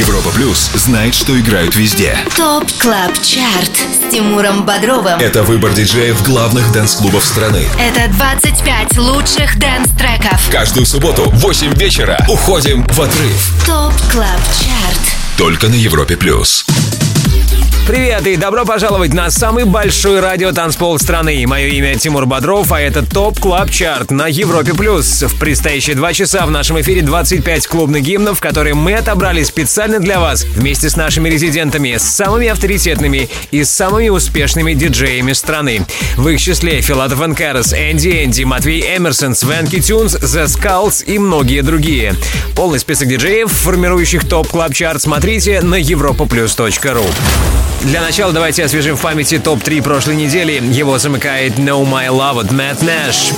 Европа Плюс знает, что играют везде. ТОП Клаб Чарт с Тимуром Бодровым. Это выбор диджеев главных дэнс-клубов страны. Это 25 лучших дэнс-треков. Каждую субботу в 8 вечера уходим в отрыв. ТОП Клаб Чарт. Только на Европе Плюс. Привет и добро пожаловать на самый большой радиотанцпол страны. Мое имя Тимур Бодров, а это ТОП Клаб Чарт на Европе+. В предстоящие 2 часа в нашем эфире 25 клубных гимнов, которые мы отобрали специально для вас вместе с нашими резидентами, с самыми авторитетными и самыми успешными диджеями страны. В их числе Филатов & Карас, Энди, Матвей Эмерсон, Свенки Тюнс, The Skulls и многие другие. Полный список диджеев, формирующих ТОП Клаб Чарт, смотрите на europaplus.ru. Для начала давайте освежим в памяти топ-3 прошлой недели. Его замыкает No My Love от Matt Nash.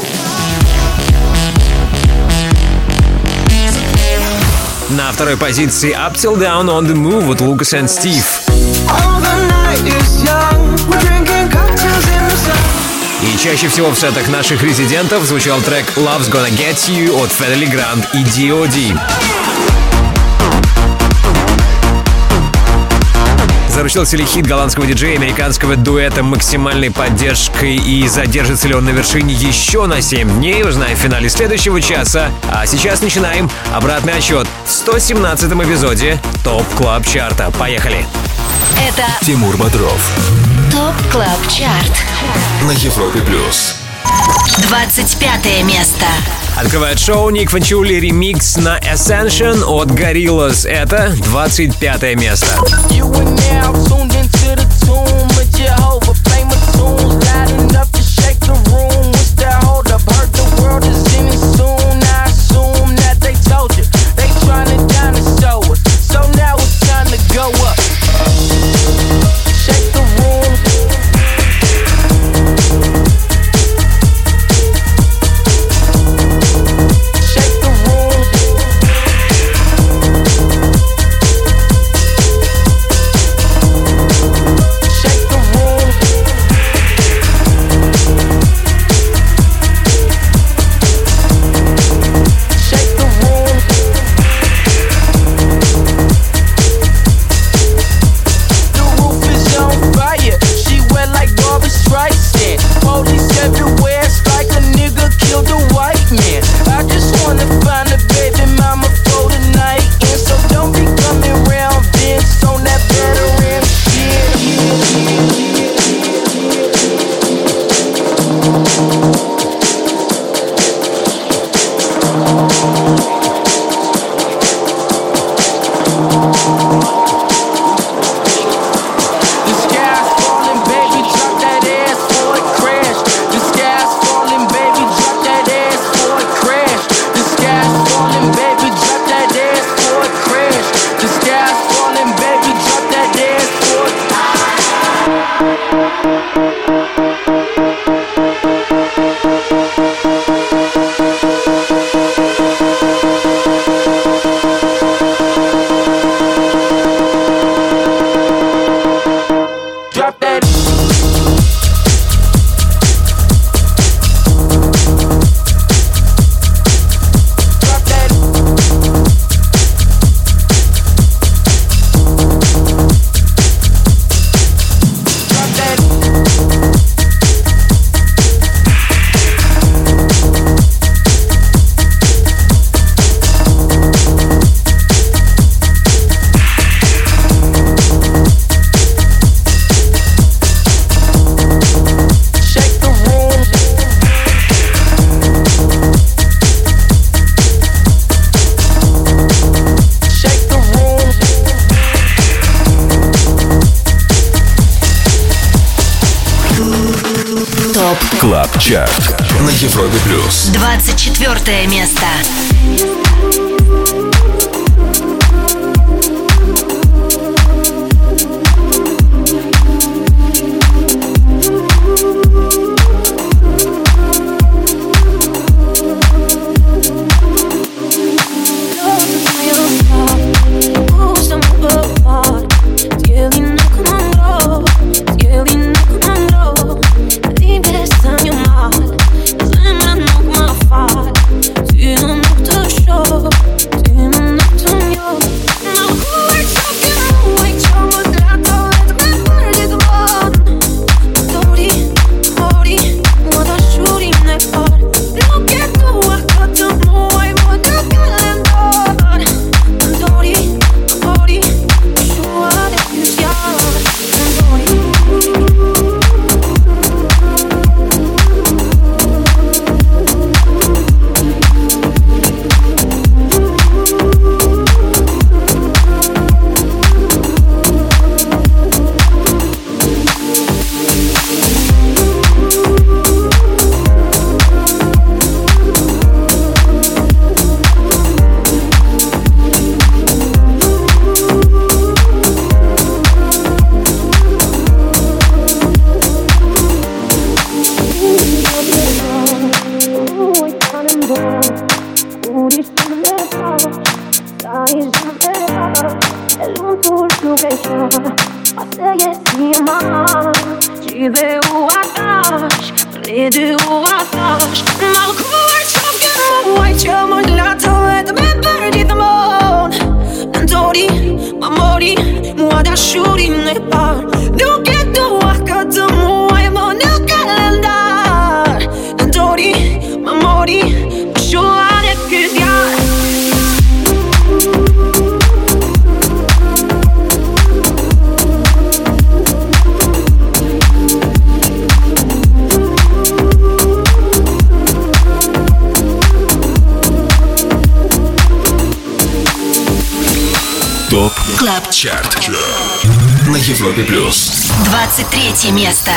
На второй позиции Up Till Down on the Move от Lucas and Steve. И чаще всего в сетах наших резидентов звучал трек Love's Gonna Get You от Fedeli Grant и D.O.D. Заручился ли хит голландского диджея американского дуэта максимальной поддержкой и задержится ли он на вершине еще на 7 дней, узнаем в финале следующего часа. А сейчас начинаем обратный отсчет в 117-м эпизоде ТОП Клаб Чарта. Поехали! Это Тимур Бодров. ТОП Клаб Чарт На Европе Плюс. 25 место. Открывает шоу Ник Фанчули ремикс на Ascension от Gorillaz. Это 25 место. Клаб Чарт на Европе Плюс. 24 место. Ты вечер, tu veux où attache, près de où attache. Facciamo il lato e dove perdi d'amore. Antori, amori, moi d'asciuri ne par. Nu che tu accato muoi, mo nel calendar. Antori, amori, sciolare che dia. ТОП КЛАБ ЧАРТ на Европе плюс. 23 место.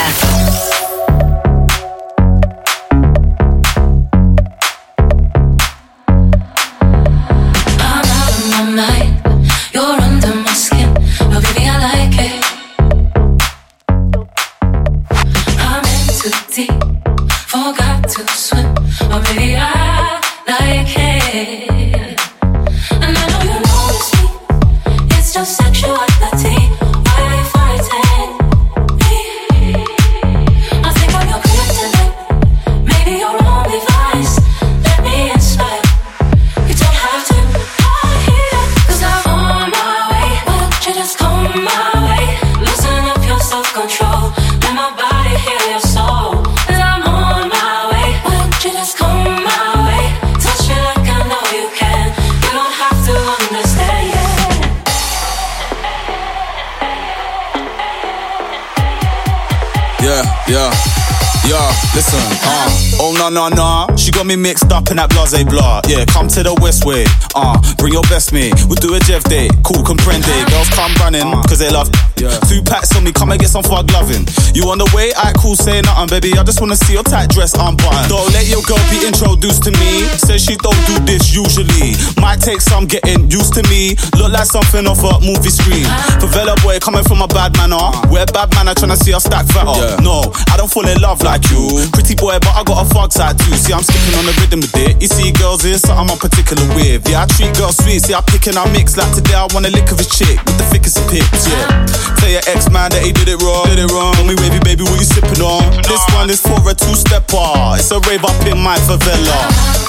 Nah, she got me mixed up in that blase blah. Yeah, come to the west way. Bring your best mate. We'll do a Jeff day. Cool, comprende. Girls come running, cause they love. Yeah. 2 packs on me, come and get some fug loving. You on the way? Alright, cool, say nothing, baby. I just wanna see your tight dress unbuttoned. Don't let your girl be introduced to me. Says she don't do this usually. Might take some getting used to me. Look like something off a movie screen. Favela boy coming from a bad manner. We're bad manner trying to see us stack fatter. Yeah. No, I don't fall in love like you. Pretty boy, but I got a fug side too. See, I'm skipping on the rhythm with it. You see, girls is something I'm particular with. Yeah, I treat girls sweet. See, I pick and I mix. Like today, I want a lick of his chick with the thickest of pics. Yeah. Tell your ex-man that he did it wrong. Tell me, wavy baby, what you sipping on? This one is for a 2-stepper. It's a rave up in my favela.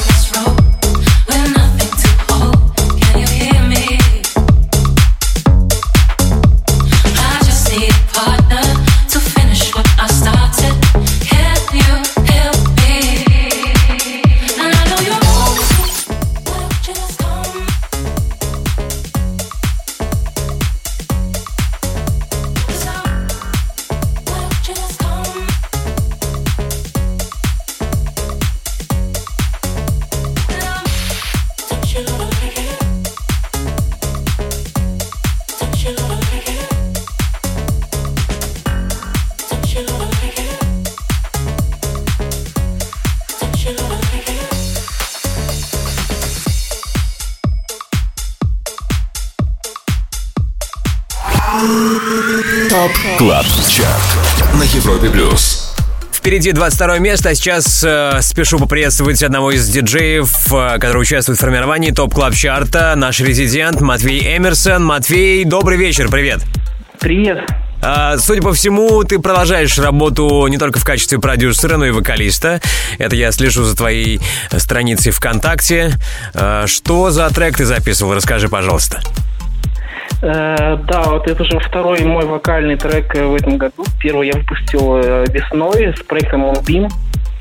ТОП КЛАБ ЧАРТ на Европе плюс. Впереди 22 место, а сейчас спешу поприветствовать одного из диджеев, который участвует в формировании ТОП КЛАБ ЧАРТа, наш резидент Матвей Эмерсон. Матвей, добрый вечер, привет. Привет. Судя по всему, ты продолжаешь работу не только в качестве продюсера, но и вокалиста. Это я слежу за твоей страницей ВКонтакте. Что за трек ты записывал? Расскажи, пожалуйста. Да, вот это уже второй мой вокальный трек в этом году. Первый я выпустил весной с проектом Moonbeam.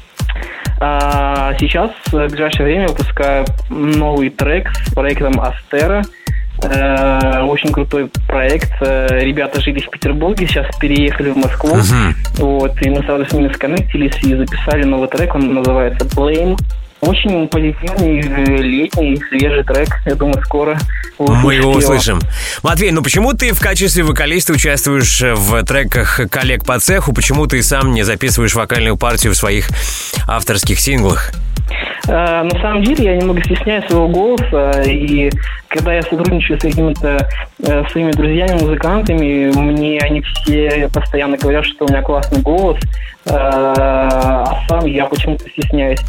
А сейчас, в ближайшее время, выпускаю новый трек с проектом Астера. Очень крутой проект. Ребята жили в Петербурге, сейчас переехали в Москву. Вот, и мы сразу с ними сконнектились и записали новый трек. Он называется Blame. Очень позитивный, летний, свежий трек. Я думаю, скоро мы его услышим. Матвей, ну почему ты в качестве вокалиста участвуешь в треках коллег по цеху? Почему ты сам не записываешь вокальную партию в своих авторских синглах? На самом деле я немного стесняюсь своего голоса, и когда я сотрудничаю с какими-то своими друзьями-музыкантами, мне они все постоянно говорят, что у меня классный голос, а сам я почему-то стесняюсь.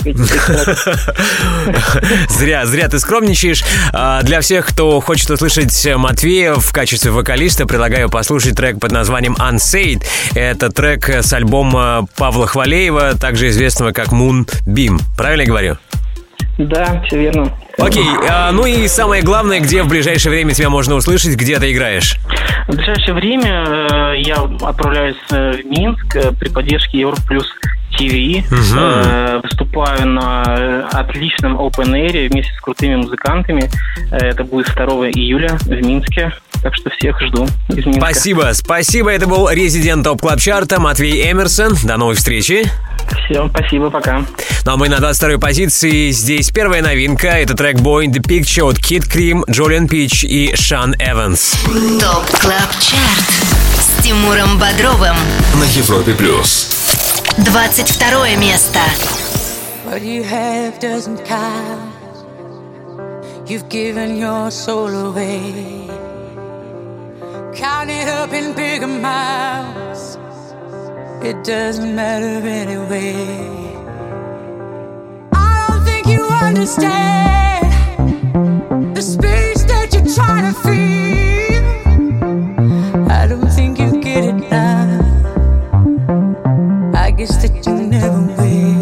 Зря ты скромничаешь. Для всех, кто хочет услышать Матвея в качестве вокалиста, предлагаю послушать трек под названием Unsaid. Это трек с альбома Павла Хвалеева, также известного как Moonbeam. Правильно я говорю? Да, все верно. Окей, ну и самое главное, где в ближайшее время тебя можно услышать, где ты играешь? В ближайшее время я отправляюсь в Минск при поддержке Европлюс ТВ. Выступаю на отличном Open Air вместе с крутыми музыкантами. Это будет 2 июля в Минске. Так что всех жду из Минска. Спасибо. Это был резидент ТОП Клаб Чарта Матвей Эмерсон. До новой встречи. Все, спасибо, пока. Ну а мы на 22-й позиции. Здесь первая новинка. Это трек Boy in the Picture от Kid Cream, Джолиан Пич и Шан Эванс. ТОП Клаб Чарт с Тимуром Бодровым на Европе плюс. 22 место. What you have doesn't count. You've given your soul away. Count it up in big amounts. It doesn't matter anyway. I don't think you understand the space that you're trying to feel. I don't think you get it now. I guess that you never will.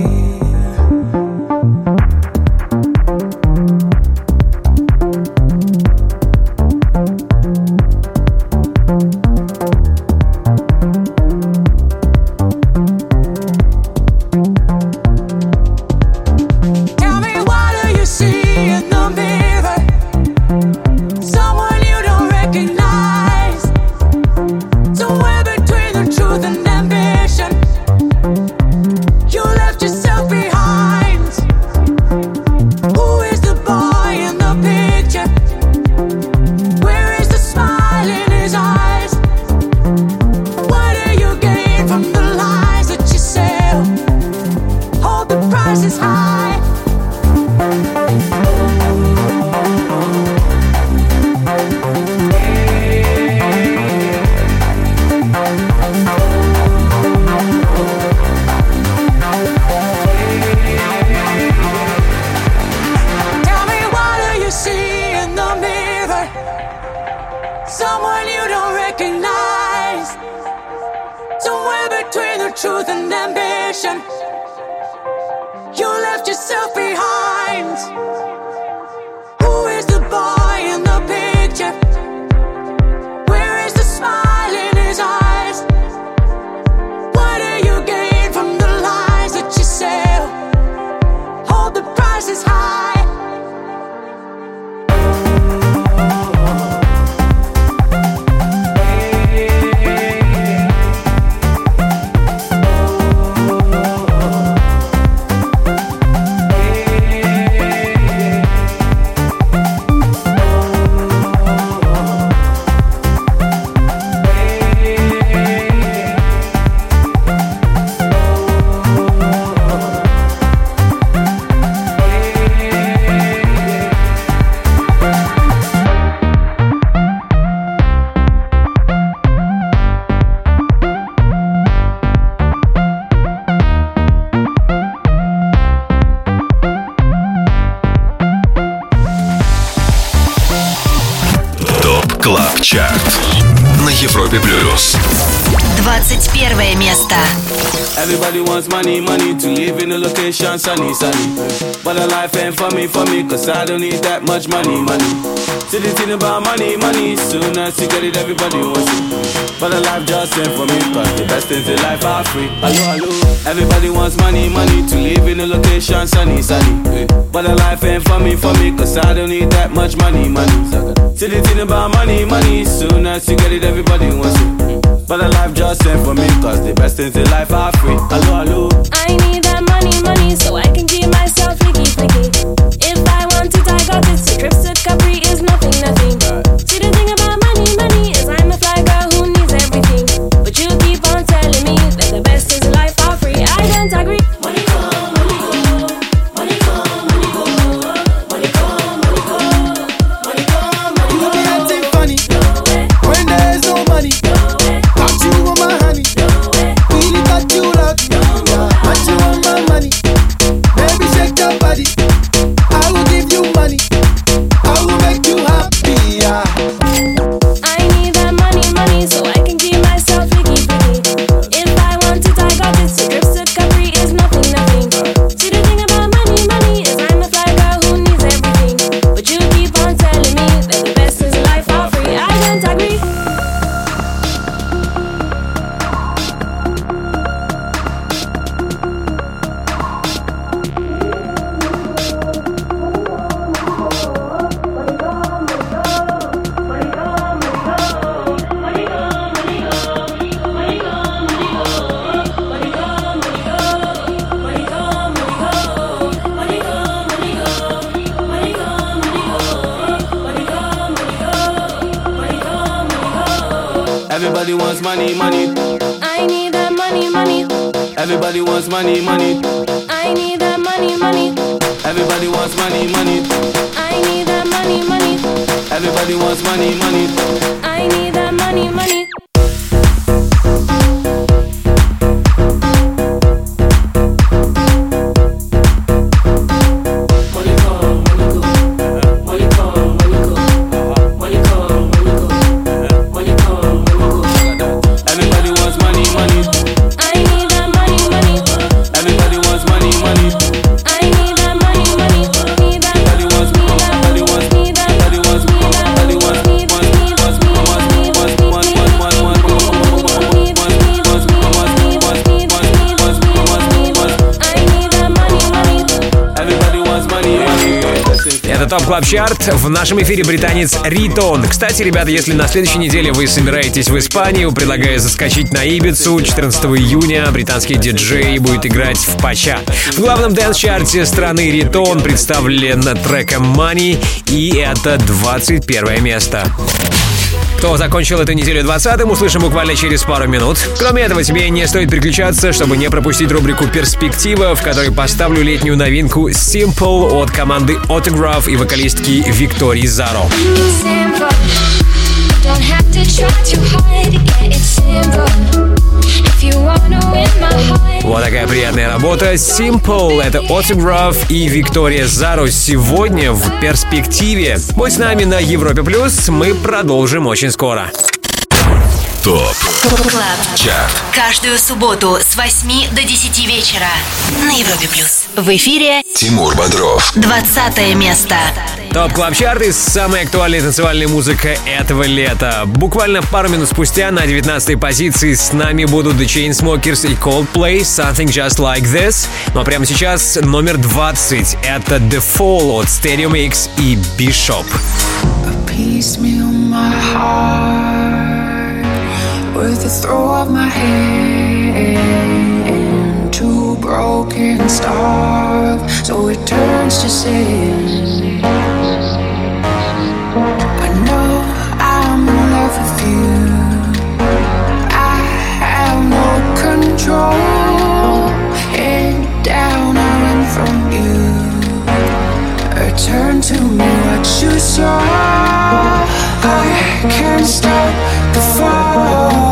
на Европе плюс. 21 место. Everybody wants money, money to live in a location sunny, sunny. But the life ain't for me, cause I don't need that much money, money. See the thing about money, money, soon as you get it, everybody wants it. But the life just ain't for me, cause the best things in life are free. Hello, hello. Everybody wants money, money to live in a location sunny, sunny. But the life ain't for me, cause I don't need that much money, money. See the thing about money, money, soon as you get it, everybody wants it. But the life just ain't for me, cause the best things in life are free. Hello, hello. I need that money, money, so I can keep myself freaky, freaky. If I want it, I got it. So trips to Capri is nothing, nothing. See the thing about money, money is I'm a fly girl who needs everything. But you keep on telling me that the best things in life are free. I don't agree. Money come, money go. Money come, money go. don't agree. Everybody wants money, money. I need that money, money. Everybody wants money, money. I need that money, money. Everybody wants money, money. I need that money, money. Everybody wants money, money. I need that money, money. Топ Клаб Чарт. В нашем эфире британец Ритон. Кстати, ребята, если на следующей неделе вы собираетесь в Испанию, предлагаю заскочить на Ибицу. 14 июня британский диджей будет играть в Пача. В главном дэнс-чарте страны Ритон представлен треком Money, и это 21 место. Кто закончил эту неделю 20-м, услышим буквально через пару минут. Кроме этого, тебе не стоит переключаться, чтобы не пропустить рубрику «Перспектива», в которой поставлю летнюю новинку «Simple» от команды Autograph и вокалистки Виктории Заро. Вот такая приятная работа. Simple — это Autograph и Виктория Заро сегодня в «Перспективе». Будь с нами на Европе+, мы продолжим очень скоро. ТОП Клаб Чарт. Каждую субботу с 8 до 10 вечера на Европе+. В эфире Тимур Бодров. 20 место. ТОП Клаб Чарт и самая актуальная танцевальная музыка этого лета. Буквально пару минут спустя на 19-й позиции с нами будут The Chainsmokers и Coldplay Something Just Like This. Но прямо сейчас номер 20. Это The Fall от Stadium X и Bishop. With the throw of my hand, two broken stars, so it turns to sin. I know I'm in love with you. I have no control. Head down, I run from you. Return to me what you saw. I can't stop the fall.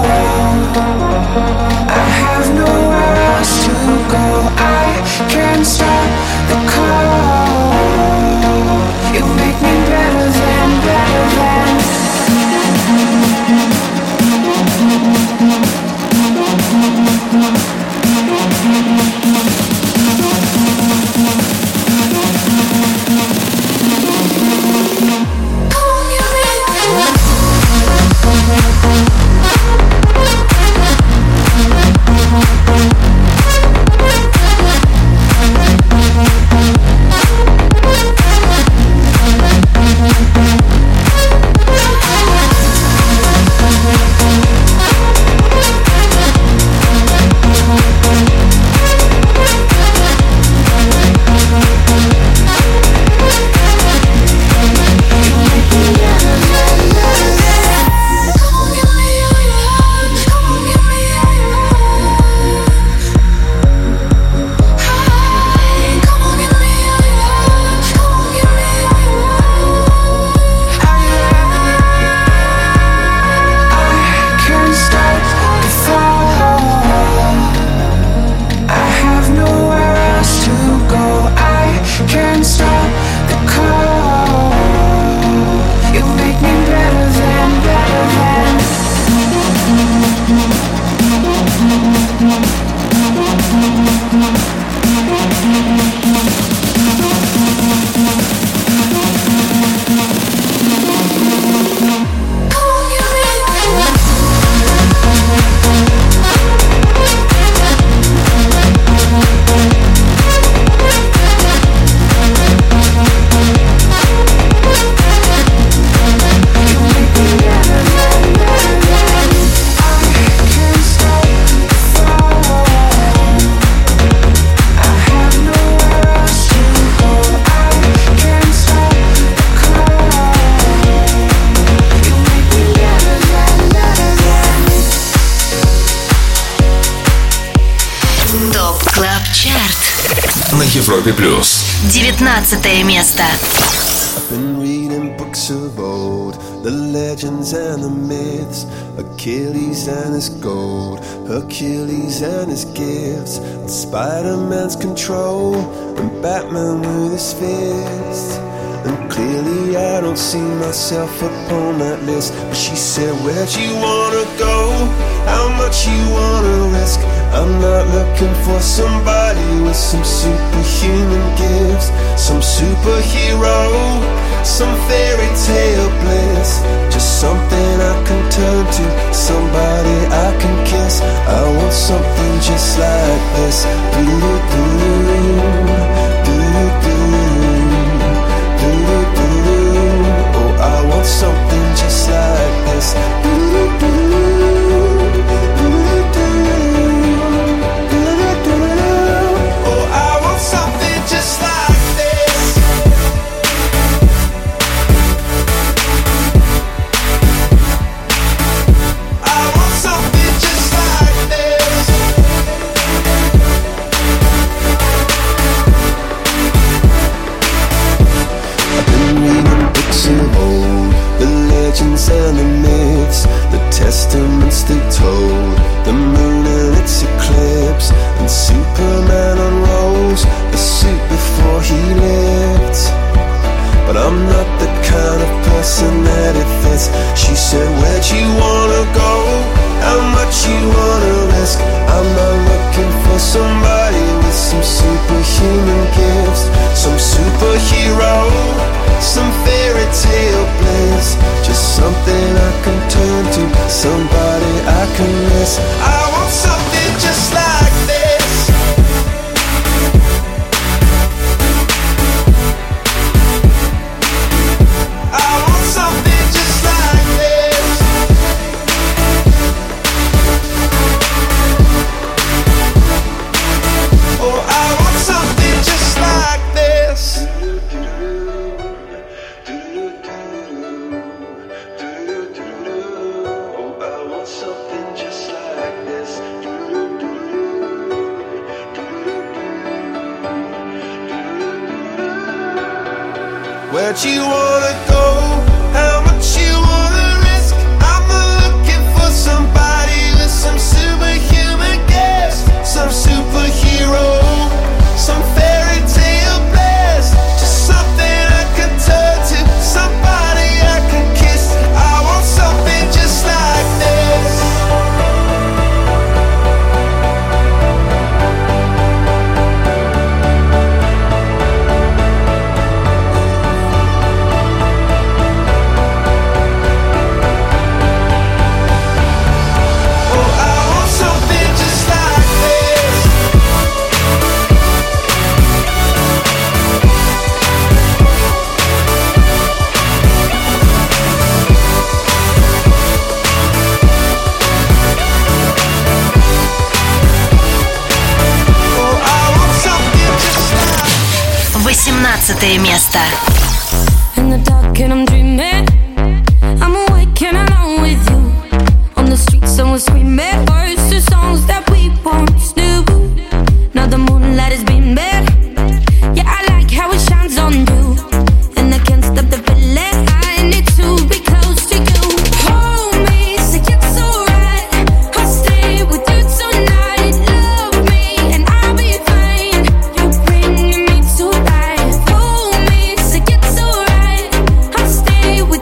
I have nowhere else to go. I can't stop the call. You make me better than, better than. на Европе+. 19 место. I've been reading books of old, the legends and the myths, Achilles and his gold, Hercules and his gifts, and Spider-Man's control, and Batman with his fists. And clearly I don't see myself upon that list. But she said, where'd you wanna go? How much you wanna risk? I'm not looking for somebody with some superhuman gifts, some superhero, some fairy tale bliss. Just something I can turn to, somebody I can kiss. I want something just like this. Oh, I want something just like this. And the myths, the testaments they told, the moon and its eclipse, and Superman unrolls the suit before he lived. But I'm not the kind of person that it fits. She said, where'd you wanna go? How much you wanna risk? I'm not looking for somebody with some superhuman gifts, some superhero, some fairy tale bliss. Just something I can turn to, somebody I can miss. I want something just like this. I want something just like this. Oh, I want something just like this. Where'd you wanna go? How much you wanna risk? I'm looking for somebody with some superhuman gifts, some superhero, some fairy tale bliss. Just something I can turn to, somebody I can kiss. I want something just like this. место. In the dark and I'm dreaming, I'm awake and alone with you. On the streets and we're screaming words to songs that we once knew. Now the moonlight is beaming, yeah, I like how it shines on you. And I can't stop the feeling, I need to be close to you. Hold me, say it's alright, I'll stay with you tonight. Love me and I'll be fine, you're bringing me to life. Hold me, say it's alright, I'll stay with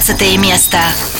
16 место.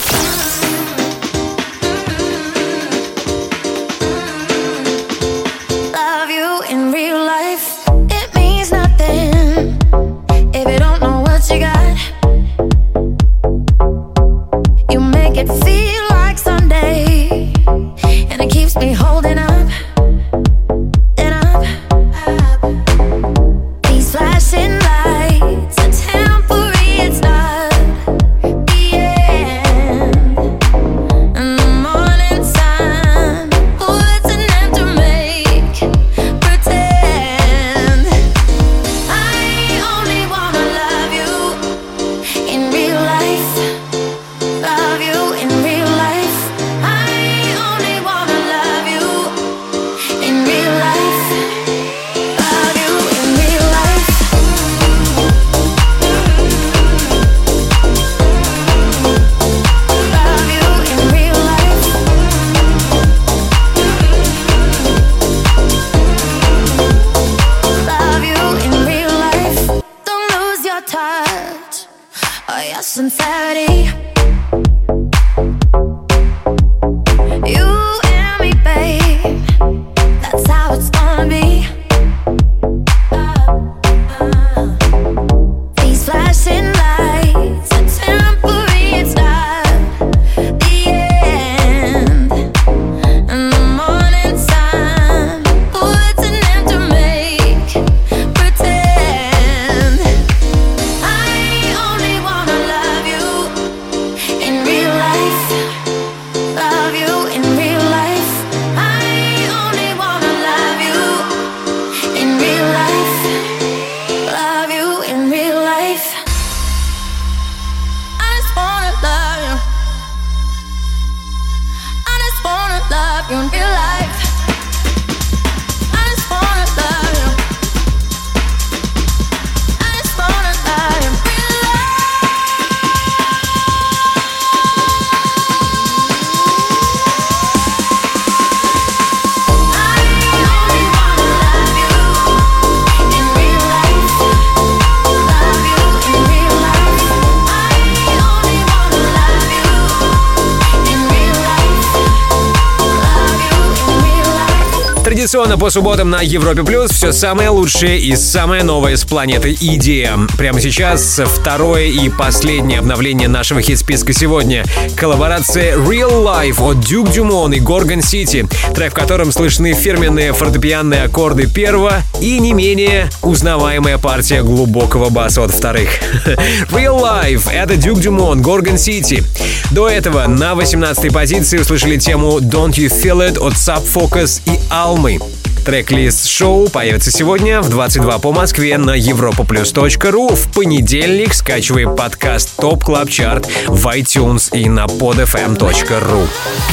Традиционно по субботам на Европе Плюс все самое лучшее и самое новое с планеты EDM. Прямо сейчас второе и последнее обновление нашего хит-списка сегодня. Коллаборация Real Life от Duke Dumont и Gorgon City. Трек, в котором слышны фирменные фортепианные аккорды первого и не менее узнаваемая партия глубокого баса от вторых. Real Life — это Duke Dumont, Gorgon City. До этого на 18-й позиции услышали тему Don't You Feel It от Sub Focus и Almy. Трек-лист шоу появится сегодня в 22 по Москве на europaplus.ru. В понедельник скачивай подкаст Топ Клаб Чарт в iTunes и на podfm.ru.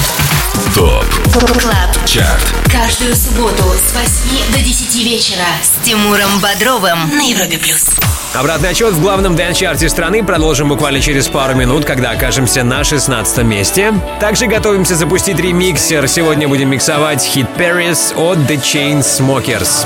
Топ Клаб Чарт. Каждую субботу с 8 до 10 вечера с Тимуром Бодровым на Европе Плюс. Обратный отчет в главном дэнс-чарте страны продолжим буквально через пару минут, когда окажемся на 16 месте. Также готовимся запустить ремиксер. Сегодня будем миксовать хит Paris от The Chainsmokers.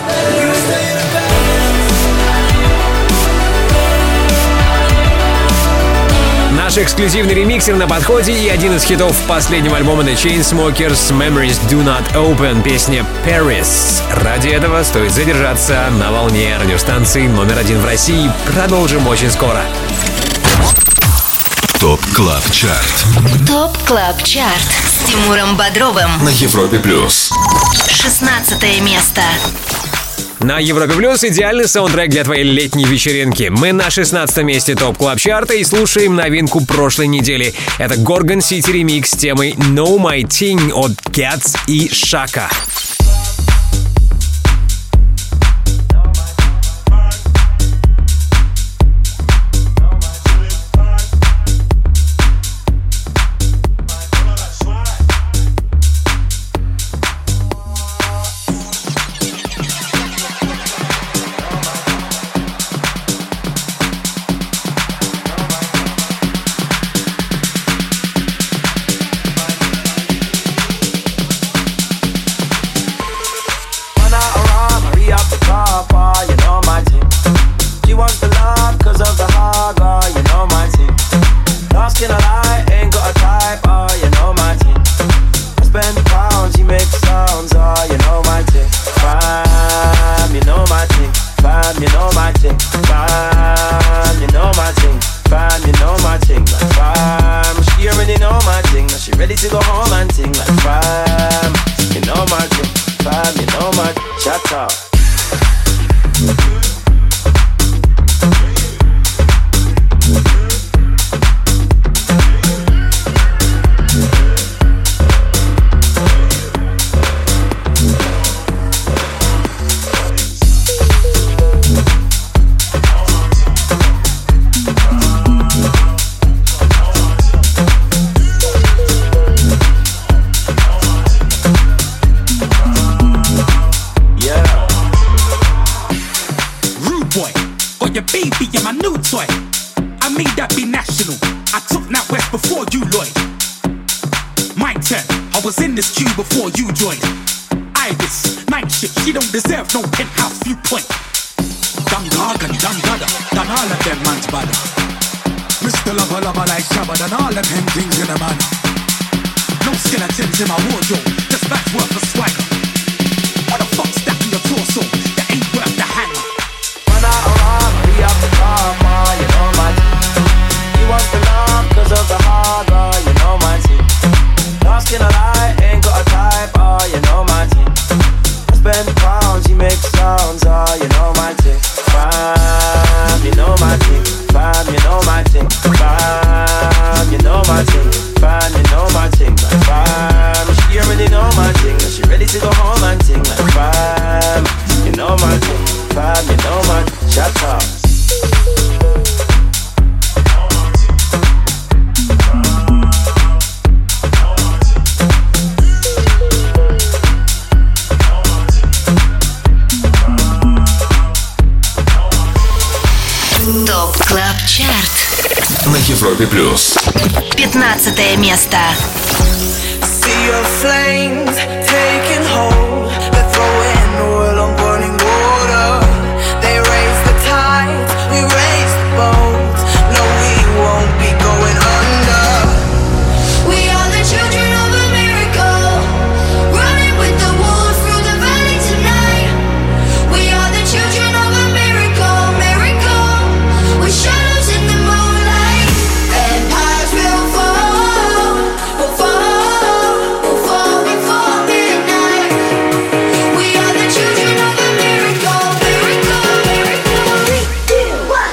Наш эксклюзивный ремиксер на подходе и один из хитов последнего альбома The Chainsmokers Memories Do Not Open, песня Paris. Ради этого стоит задержаться на волне радиостанции номер 1 в России. Продолжим очень скоро. Топ Клаб Чарт. Топ Клаб Чарт с Тимуром Бодровым На Европе Плюс. 16 место. На Европе Плюс идеальный саундтрек для твоей летней вечеринки. Мы на 16 месте ТОП Клаб Чарта и слушаем новинку прошлой недели. Это Gorgon City ремикс с темой Know My Thing от Cats и Shaka. ready to go home and sing like fam. You know my thing, fam, you know my shut up. Baby, you're my new toy. I made that be national. I took that west before you, Lloyd. My turn. I was in this queue before you joined. Ibis, night shift. She don't deserve no penthouse viewpoint. Done gargan, done gada, done all of them man's bad. Mr. Lover, lover like Shabba, done all of them things in a man. No skeletons in my wardrobe, just that's worth a swagger. What the fuck's that in your torso? That ain't worth the hanger. We have the karma, you know my team. You want the love cause of the hard, you know my team. Dark skin a lie, ain't got a type, you know my team. I spend pounds, you make sounds, you know my team. Fam, you know my team. Fam, you know my team. Fam, you know my team. Fam, you know my team. Like fam, she already know my thing. She ready to go home and sing like fam. You know my team. Fam, you know my team. Shut up. ТОП Клаб Чарт на Европе плюс. 15 место. See your flames taking hold. They're throwing oil on burning water. They raise the tides, we raise the boats. No, we won't be going under. We are the children of a miracle, running with the wolves through the valley tonight. We are the children of a miracle, miracle, with shadows in the moonlight. Empires will fall, will fall, will fall before midnight. We are the children of a miracle, miracle, miracle. 3, 2, 1.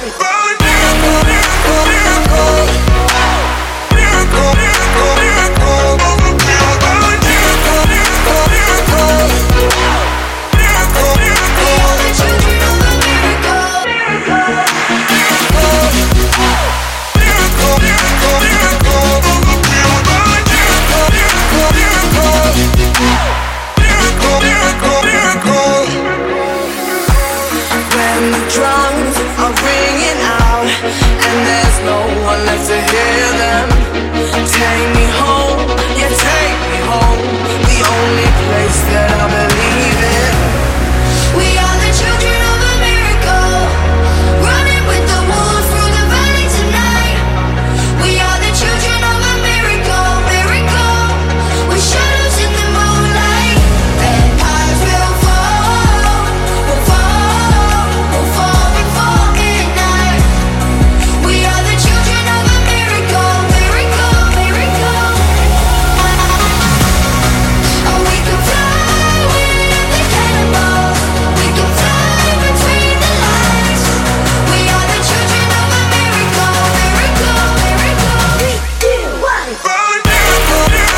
When the drums are ringing out and there's no one left to hear them, take me home, yeah, take me home, the only place that I believe in. We are the children of a miracle, running with the wolves through the valley tonight. We are the children of a miracle, miracle, with shadows in the moonlight. Empires will fall, will fall, will fall before midnight. We are the children of a miracle, miracle, miracle. Oh, we can fly with the cannonballs. We can fly between the lines. We are the children of a miracle, miracle, miracle. 3, 2, 1.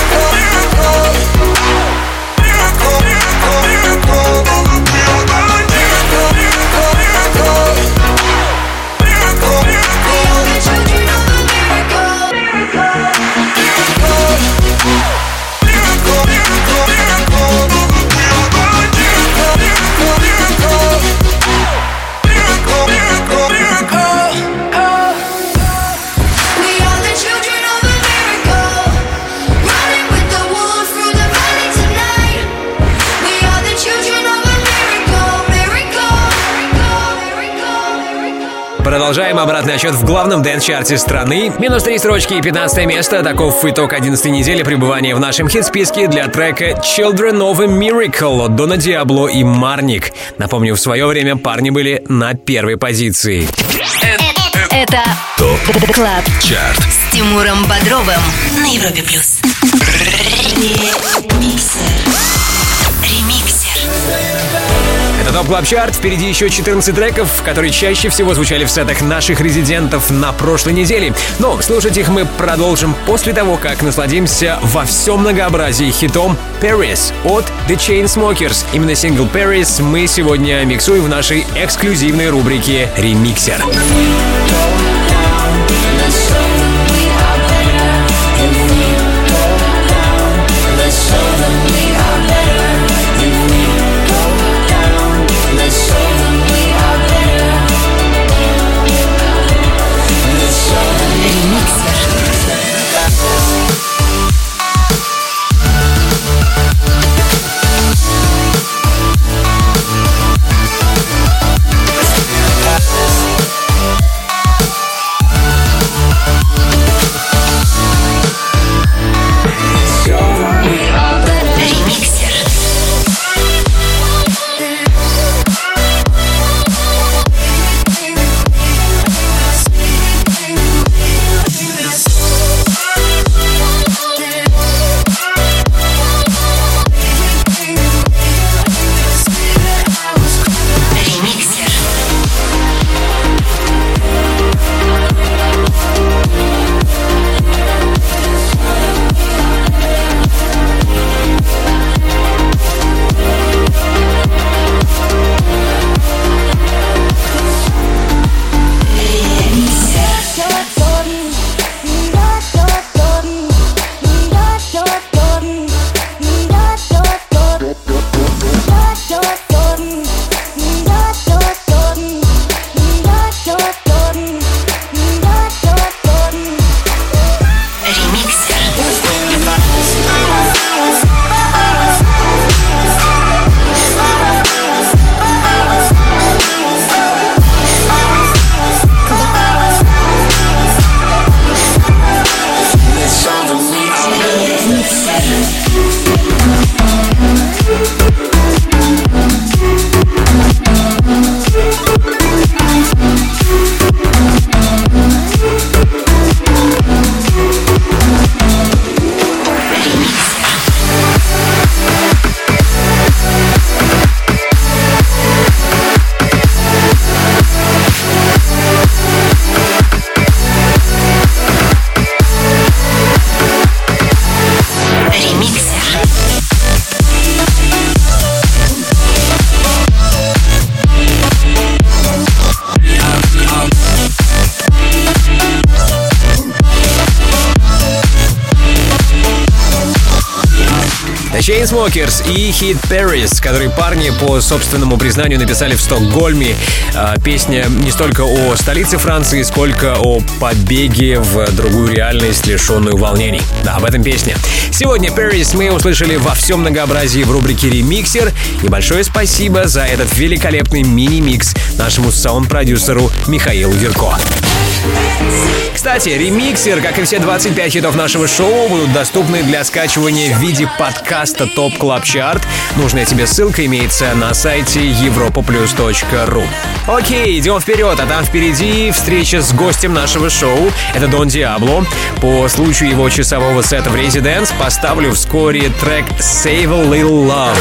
We are the children of a miracle, running with the wolves through the valley tonight. We are the children of a miracle, miracle, miracle, miracle. Продолжаем обратный отсчет в главном дэнс-чарте страны. Минус 3 строчки и 15 место. Таков итог 11 недели пребывания в нашем хит-списке для трека Children of a Miracle от Дона Диабло и Марник. Напомню, в свое время парни были на первой позиции. Это ТОП КЛАБ ЧАРТ с Тимуром Бодровым на Европе+. Ремиксер. Это ТОП КЛАБ ЧАРТ. Впереди еще 14 треков, которые чаще всего звучали в сетах наших резидентов на прошлой неделе. Но слушать их мы продолжим после того, как насладимся во всем многообразии хитом Paris от The Chainsmokers. Именно сингл Paris мы сегодня миксуем в нашей эксклюзивной рубрике «Ремиксер». Chainsmokers и хит Paris, который парни по собственному признанию написали в Стокгольме. Песня не столько о столице Франции, сколько о побеге в другую реальность, лишенную волнений. Да, об этом песня. Сегодня Paris мы услышали во всем многообразии в рубрике «Ремиксер». И большое спасибо за этот великолепный мини-микс нашему саунд-продюсеру Михаилу Верко. Кстати, ремиксер, как и все 25 хитов нашего шоу, будут доступны для скачивания в виде подкаста ТОП КЛАБ ЧАРТ. Нужная тебе ссылка имеется на сайте europaplus.ru. Окей, идем вперед, а там впереди встреча с гостем нашего шоу. Это Дон Диабло. По случаю его часового сета в Residence поставлю вскоре трек «Save a Little Love».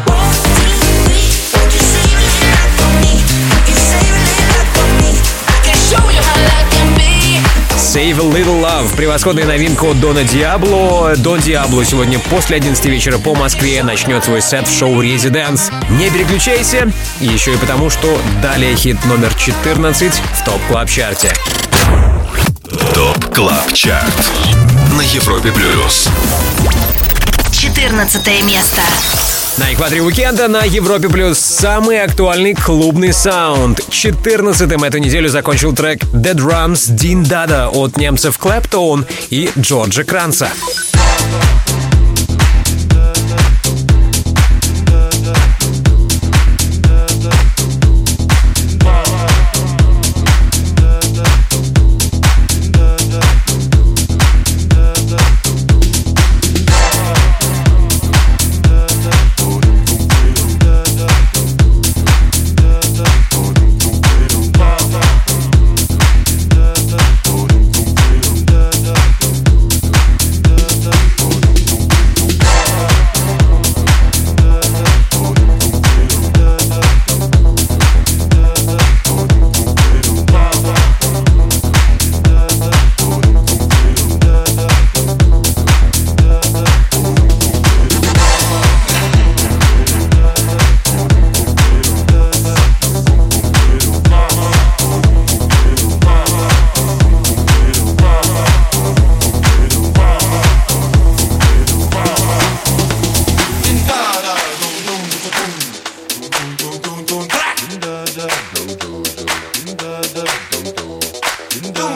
Save a Little Love. Превосходная новинка от Дона Диабло. Дон Диабло сегодня после 11 вечера по Москве начнет свой сет в шоу «Резиденс». Не переключайся. Еще и потому, что далее хит номер 14 в ТОП КЛАБ ЧАРТе. ТОП КЛАБ ЧАРТ на Европе+. 14 место. На экваторе уикенда на Европе Плюс самый актуальный клубный саунд. 14-м эту неделю закончил трек The Drums Din Dada от немцев Clapton и Джорджа Кранца.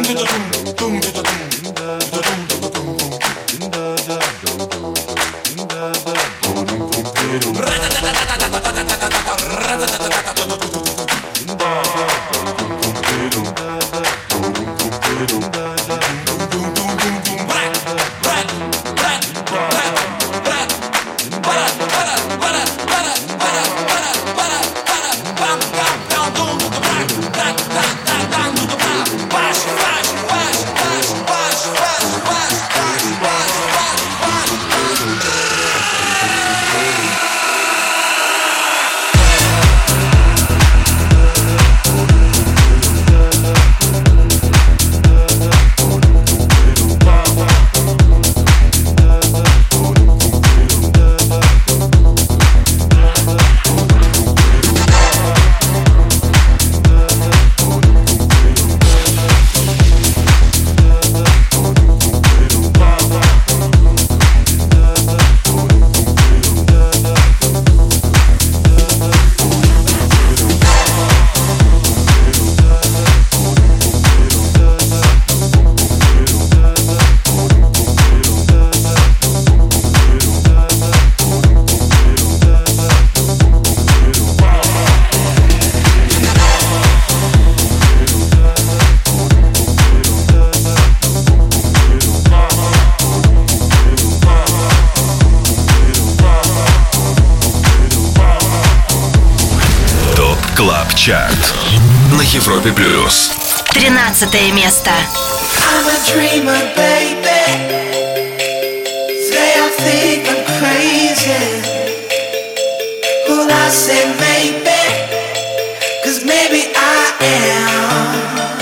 Чарт на Европе плюс. 13 место. I'm a dreamer, baby. Say I think I'm crazy. Well, I say maybe, 'cause maybe I am.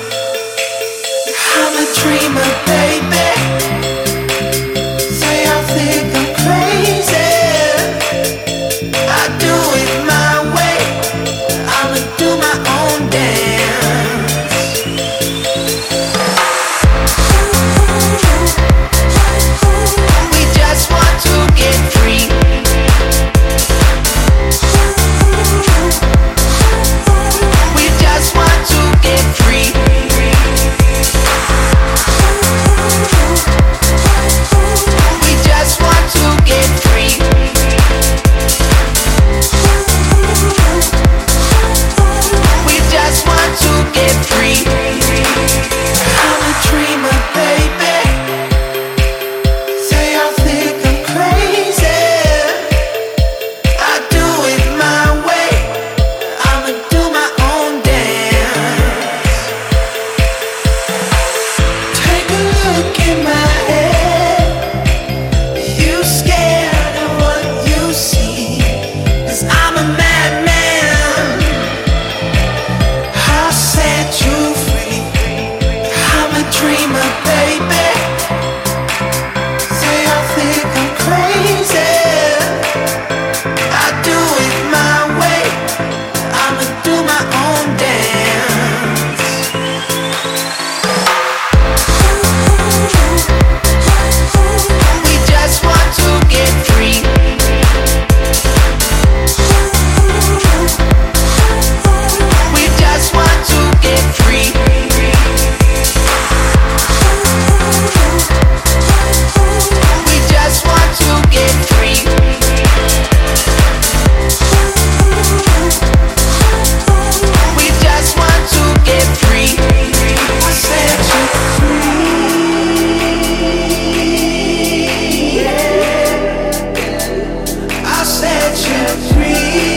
I'm a dreamer, baby. Say I think I'm crazy. I do it my way. I'ma do my own dance. We just want to get free. We just want to get free. We just want to get free. We just want to get free. I'm a dreamer, baby. Say I think I'm crazy. I do it my way. I'ma do my own dance. Take a look in my head. You scared of what you see? 'Cause I'm a madman. I'll set you free. I'm a dreamer, baby. Say I think I'm crazy. I do it my way. I'ma do my own dance. We just want to get free. We just want to get free. We just want to get free. We just want to get free. I set you free. I set you free.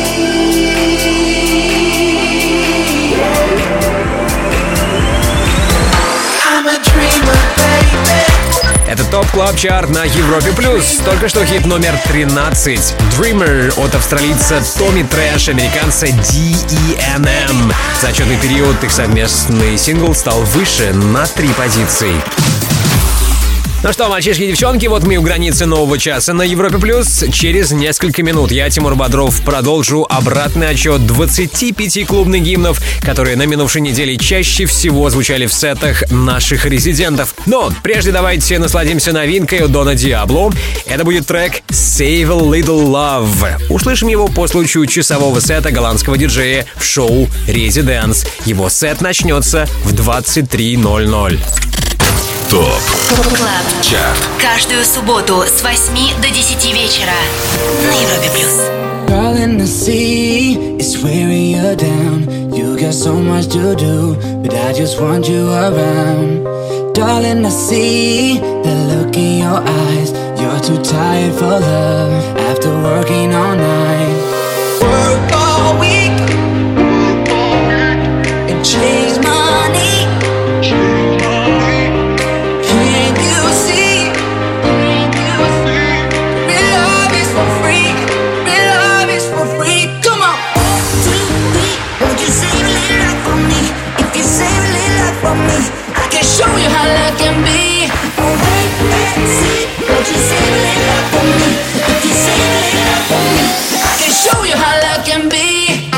I'm a dreamer, baby. Это ТОП Клаб Чарт на Европе плюс. Только что хит номер 13. Dreamer от австралийца Томми Трэш, американца D.E.N.M. За отчетный период их совместный сингл стал выше на 3 позиции. Ну что, мальчишки и девчонки, вот мы у границы нового часа на Европе+. Через несколько минут я, Тимур Бодров, продолжу обратный отчет 25 клубных гимнов, которые на минувшей неделе чаще всего звучали в сетах наших резидентов. Но прежде давайте насладимся новинкой у Дона Диабло. Это будет трек «Save a Little Love». Услышим его по случаю часового сета голландского диджея в шоу «Резиденс». Его сет начнется в 23:00. ТОП КЛАБ ЧАРТ. Каждую субботу с 8 до 10 вечера на Европе+. Darling, I see it's wearing you down. You got so much to do, but I just want you around. Darling, I see the look in your eyes. You're too tired for love after working all night. Work all week and chase money. Show you how love can be. Oh, wait and see. Won't you save a little love for me? If you save a little love for me, I can show you how love can be.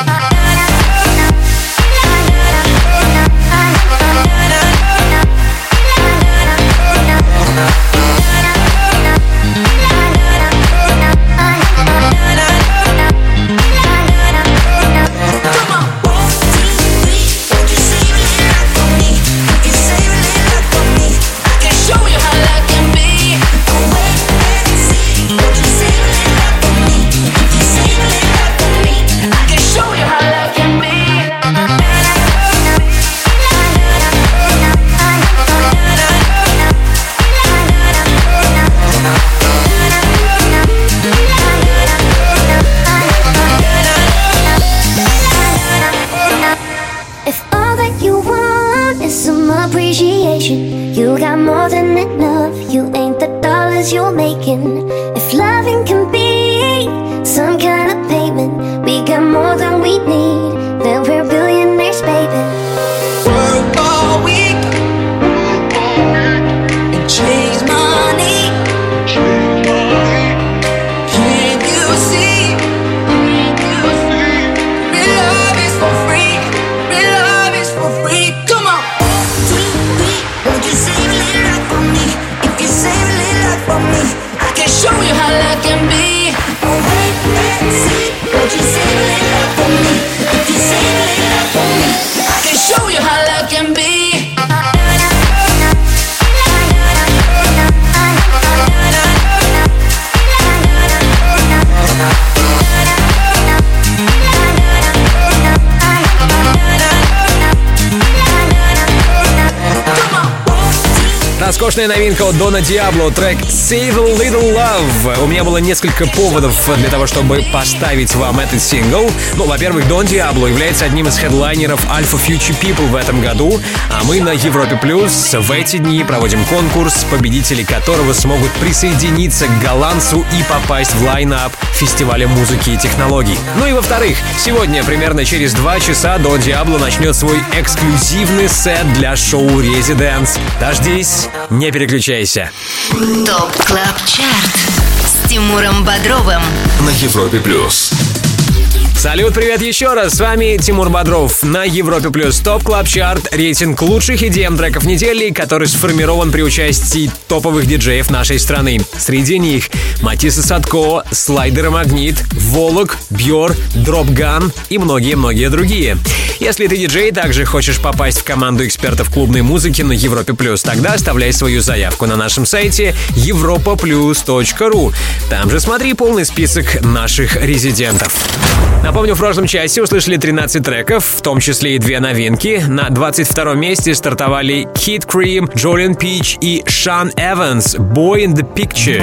You got more than enough. You ain't the dollars you're making. If loving can be some kind of payment, we got more than we need. Then we're billionaires, baby. Work all week and chase money. Can't you see? Real love is for free. Real love is for free. Come on. Won't you save a little love for me? If you save a little love for me, I can show you how love can be. Oh, wait and see. Won't you save a little love for me? If you save a little love for me, I can show you how love can be. Роскошная новинка от Дона Диабло, трек «Save a Little Love». У меня было несколько поводов для того, чтобы поставить вам этот сингл. Ну, во-первых, Дон Диабло является одним из хедлайнеров Alpha Future People в этом году, а мы на Европе Плюс в эти дни проводим конкурс, победители которого смогут присоединиться к голландцу и попасть в лайн-ап фестиваля музыки и технологий. Ну и во-вторых, сегодня примерно через 2 часа Дон Диабло начнет свой эксклюзивный сет для шоу «Резиденс». Дождись, не переключайся. ТОП КЛАБ ЧАРТ с Тимуром Бодровым на Европе Плюс. Салют, привет еще раз, с вами Тимур Бодров на Европе Плюс. ТОП КЛАБ ЧАРТ, рейтинг лучших EDM треков недели, который сформирован при участии топовых диджеев нашей страны. Среди них Матисса Садко, Слайдер Магнит, Волок, Бьор, Дропган и многие-многие другие. Если ты диджей, также хочешь попасть в команду экспертов клубной музыки на Европе Плюс, тогда оставляй свою заявку на нашем сайте europaplus.ru. Там же смотри полный список наших резидентов. Напомню, в прошлом часе услышали 13 треков, в том числе и 2 новинки. На 22-м месте стартовали Kid Cream, Jolene Peach и Sean Evans, Boy in the Picture.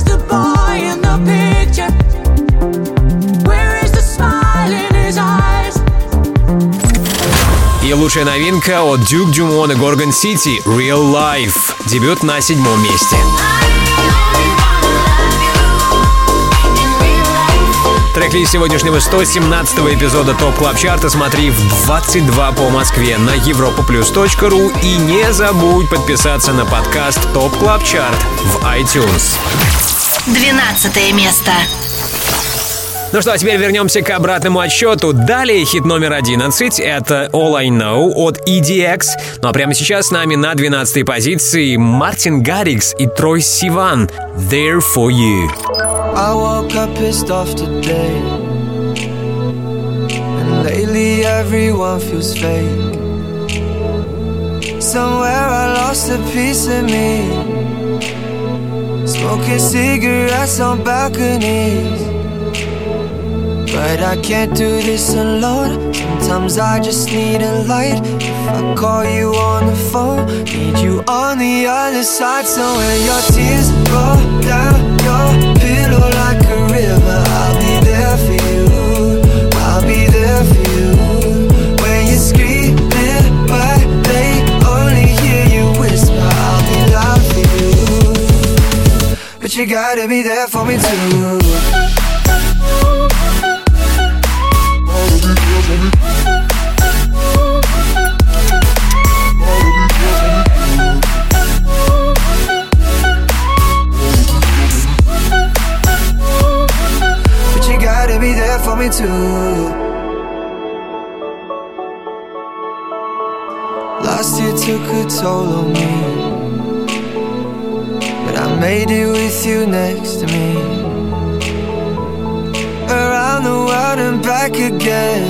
И лучшая новинка от Duke Dumont и Gorgon City, Real Life, дебют на 7-м месте. Трек-лист сегодняшнего 117-го эпизода ТОП Клаб Чарта смотри в 22 по Москве на europaplus.ru и не забудь подписаться на подкаст ТОП Клаб Чарт в iTunes. 12 место. Ну что, а теперь вернемся к обратному отсчету. Далее хит номер 11 — это All I Know от EDX. Ну а прямо сейчас с нами на 12-й позиции Мартин Гаррикс и Трой Сиван «There For You». I woke up pissed off today, and lately everyone feels fake. Somewhere I lost a piece of me, smoking cigarettes on balconies. But I can't do this alone. Sometimes I just need a light. If I call you on the phone, need you on the other side. So when your tears roll down your pillow like a river, I'll be there for you. I'll be there for you. When you're screaming but they only hear you whisper, I'll be loud for you. But you gotta be there for me too. Be there for me too. Last year took a toll on me, but I made it with you next to me. Around the world and back again.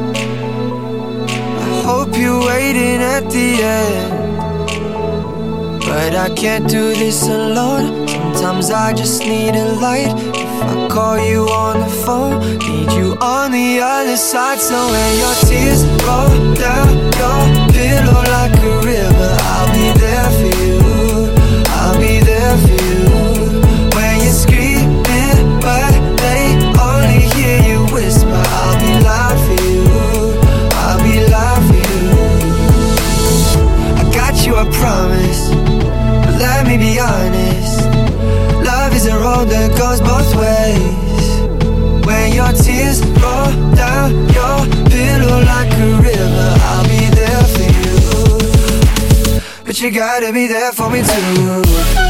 I hope you're waiting at the end, but I can't do this alone. Sometimes I just need a light. I call you on the phone, need you on the other side. So when your tears roll down your pillow like a river, I'll be there for you. I'll be there for you. When you're screaming but they only hear you whisper, I'll be loud for you. I'll be loud for you. I got you, I promise, but let me be honest. Love is a road that goes both ways. When your tears roll down your pillow like a river, I'll be there for you. But you gotta be there for me too.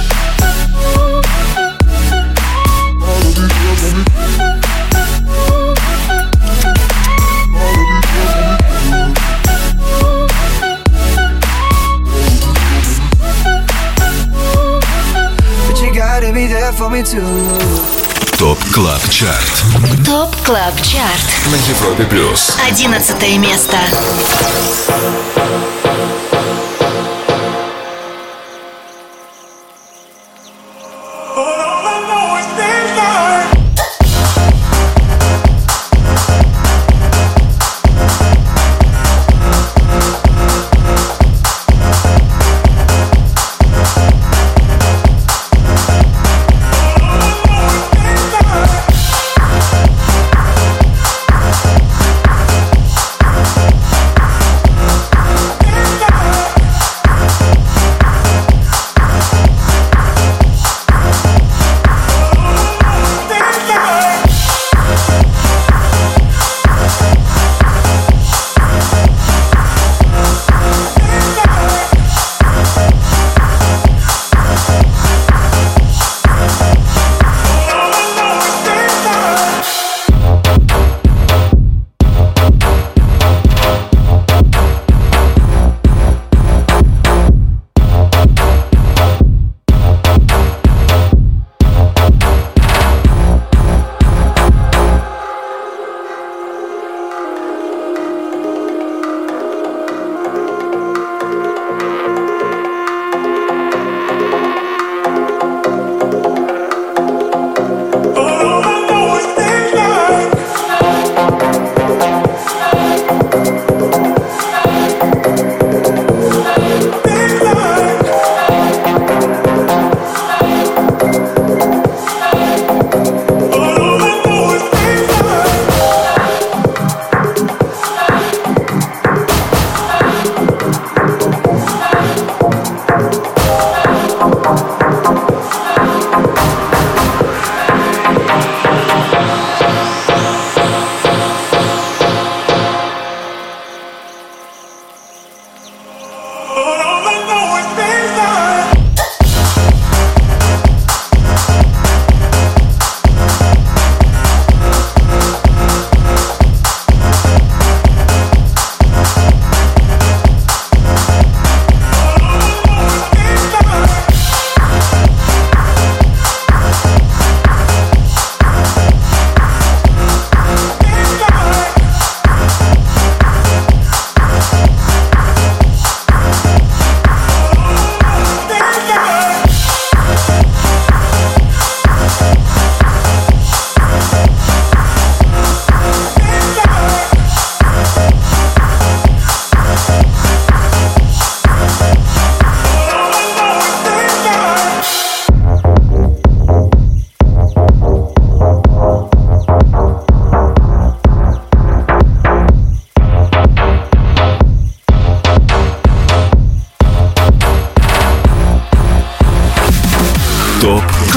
Be there for me too. ТОП Клаб Чарт. ТОП Клаб Чарт На Европе Плюс. 11 место.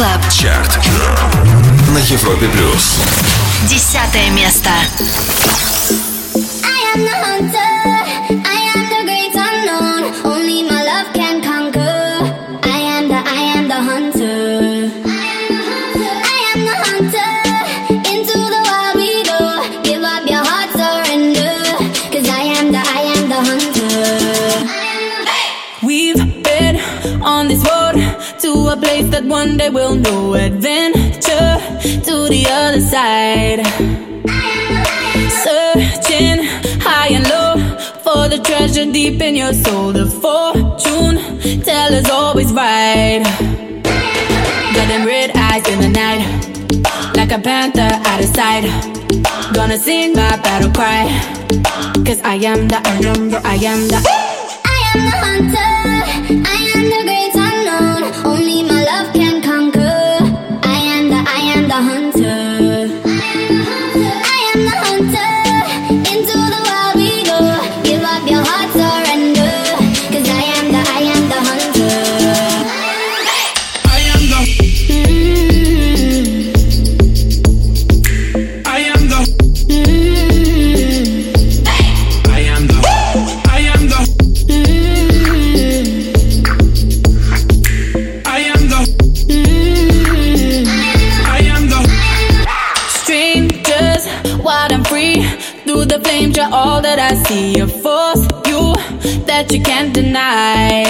Клаб Чарт на Европе плюс. 10 место. I am the hunter, I am the great unknown. Only my love can conquer. I am the hunter. I am the hunter. Into the wild we go. Give up your heart, surrender. 'Cause I am the hunter. We've been on this road to a place that one day we'll know. Adventure to the other side. Searching high and low for the treasure deep in your soul. The fortune teller's always right. Got them red eyes in the night, like a panther out of sight. Gonna sing my battle cry, 'cause I am the hunter. I am the hunter. I am the great unknown. Only my love can conquer. I am the hunter. I am the hunter. Into the wild we go. Give up your heart, surrender. 'Cause I am the hunter. I am the I am the I am the I am the I am the I am the Strangers, wild and free. Through the flames, you're all that I see. A force, you that you can't deny.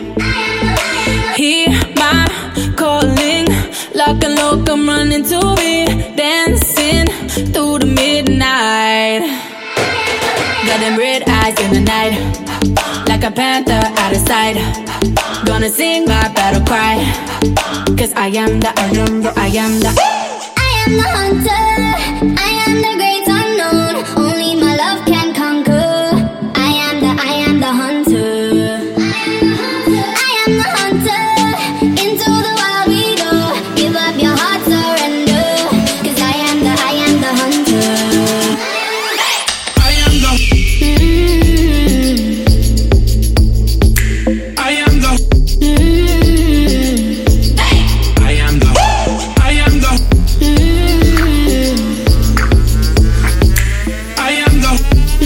Hear my calling, lock and low, come running to me. Dancing through the midnight. Got them red eyes in the night, like a panther out of sight. Gonna sing my battle cry, 'cause I am the hunter. I am the hunter. I am the great unknown. Only my love can conquer. I am the hunter. I am the hunter. Into the wild we go. Give up your heart, surrender. 'Cause I am the hunter. I am the I am the I am the I am the I am the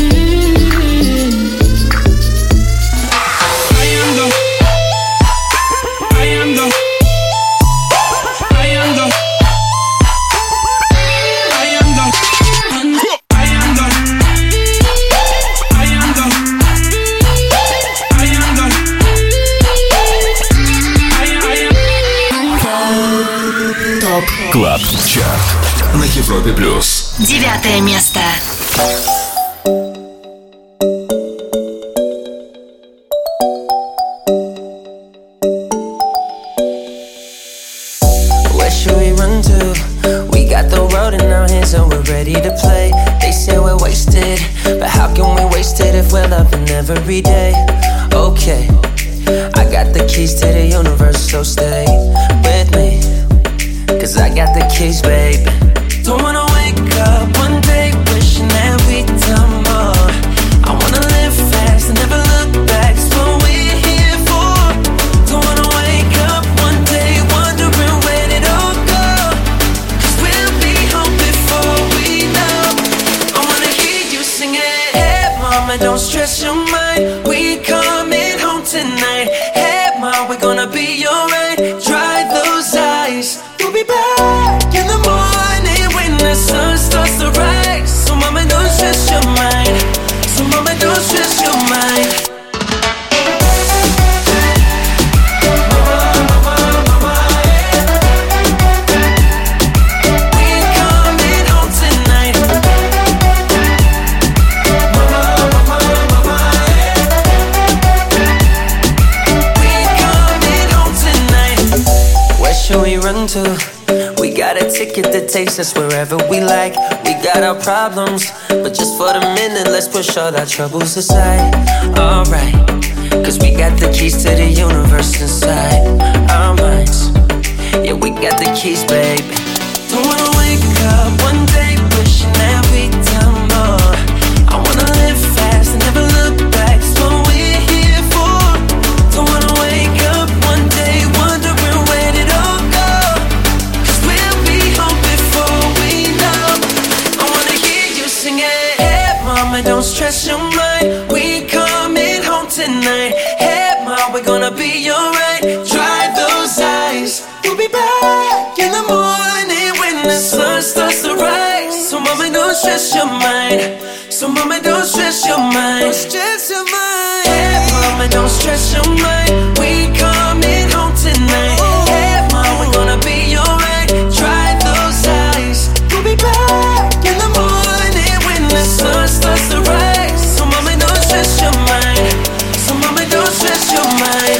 I am the I am the I am the I am the I am the I am the I am the ТОП КЛАБ ЧАРТ на Европе плюс. 9 место. Where should we run to? We got the road in our hands and we're ready to play. They say we're wasted, but how can we waste it if we're loving every day? Okay, I got the keys to the universe, so stay with me, 'cause I got the keys, baby. Don't wanna wake up one day wishing that we'd done more. I wanna live fast and never look back, it's what we're here for. Don't wanna wake up one day wondering where did it all go, 'cause we'll be home before we know. I wanna hear you singing, hey mama, don't stress your mind, we coming home tonight. Hey mama, we're gonna be alright. Dry those eyes, we'll be back in the morning when the sun starts to rise. So mama, don't stress your mind. So mama, don't stress your mind. Run to. We got a ticket that takes us wherever we like. We got our problems, but just for the minute, let's push all our troubles aside. Alright, 'cause we got the keys to the universe inside our minds. Yeah, we got the keys, baby. Don't wanna wake up one day wishing that we'd done more. I wanna live fast and never look back, it's what we're here for. Don't wanna wake up one day wondering where did it all go, gonna be alright. Dry those eyes. We'll be back in the morning when the sun starts to rise. So mama, don't stress your mind. So mama, don't stress your mind. Don't stress your mind. Hey mama, don't stress your mind. We coming home tonight. Hey mama, we're gonna be alright. Dry those eyes. We'll be back in the morning when the sun starts to rise. So mama, don't stress your mind. So mama, don't stress your mind.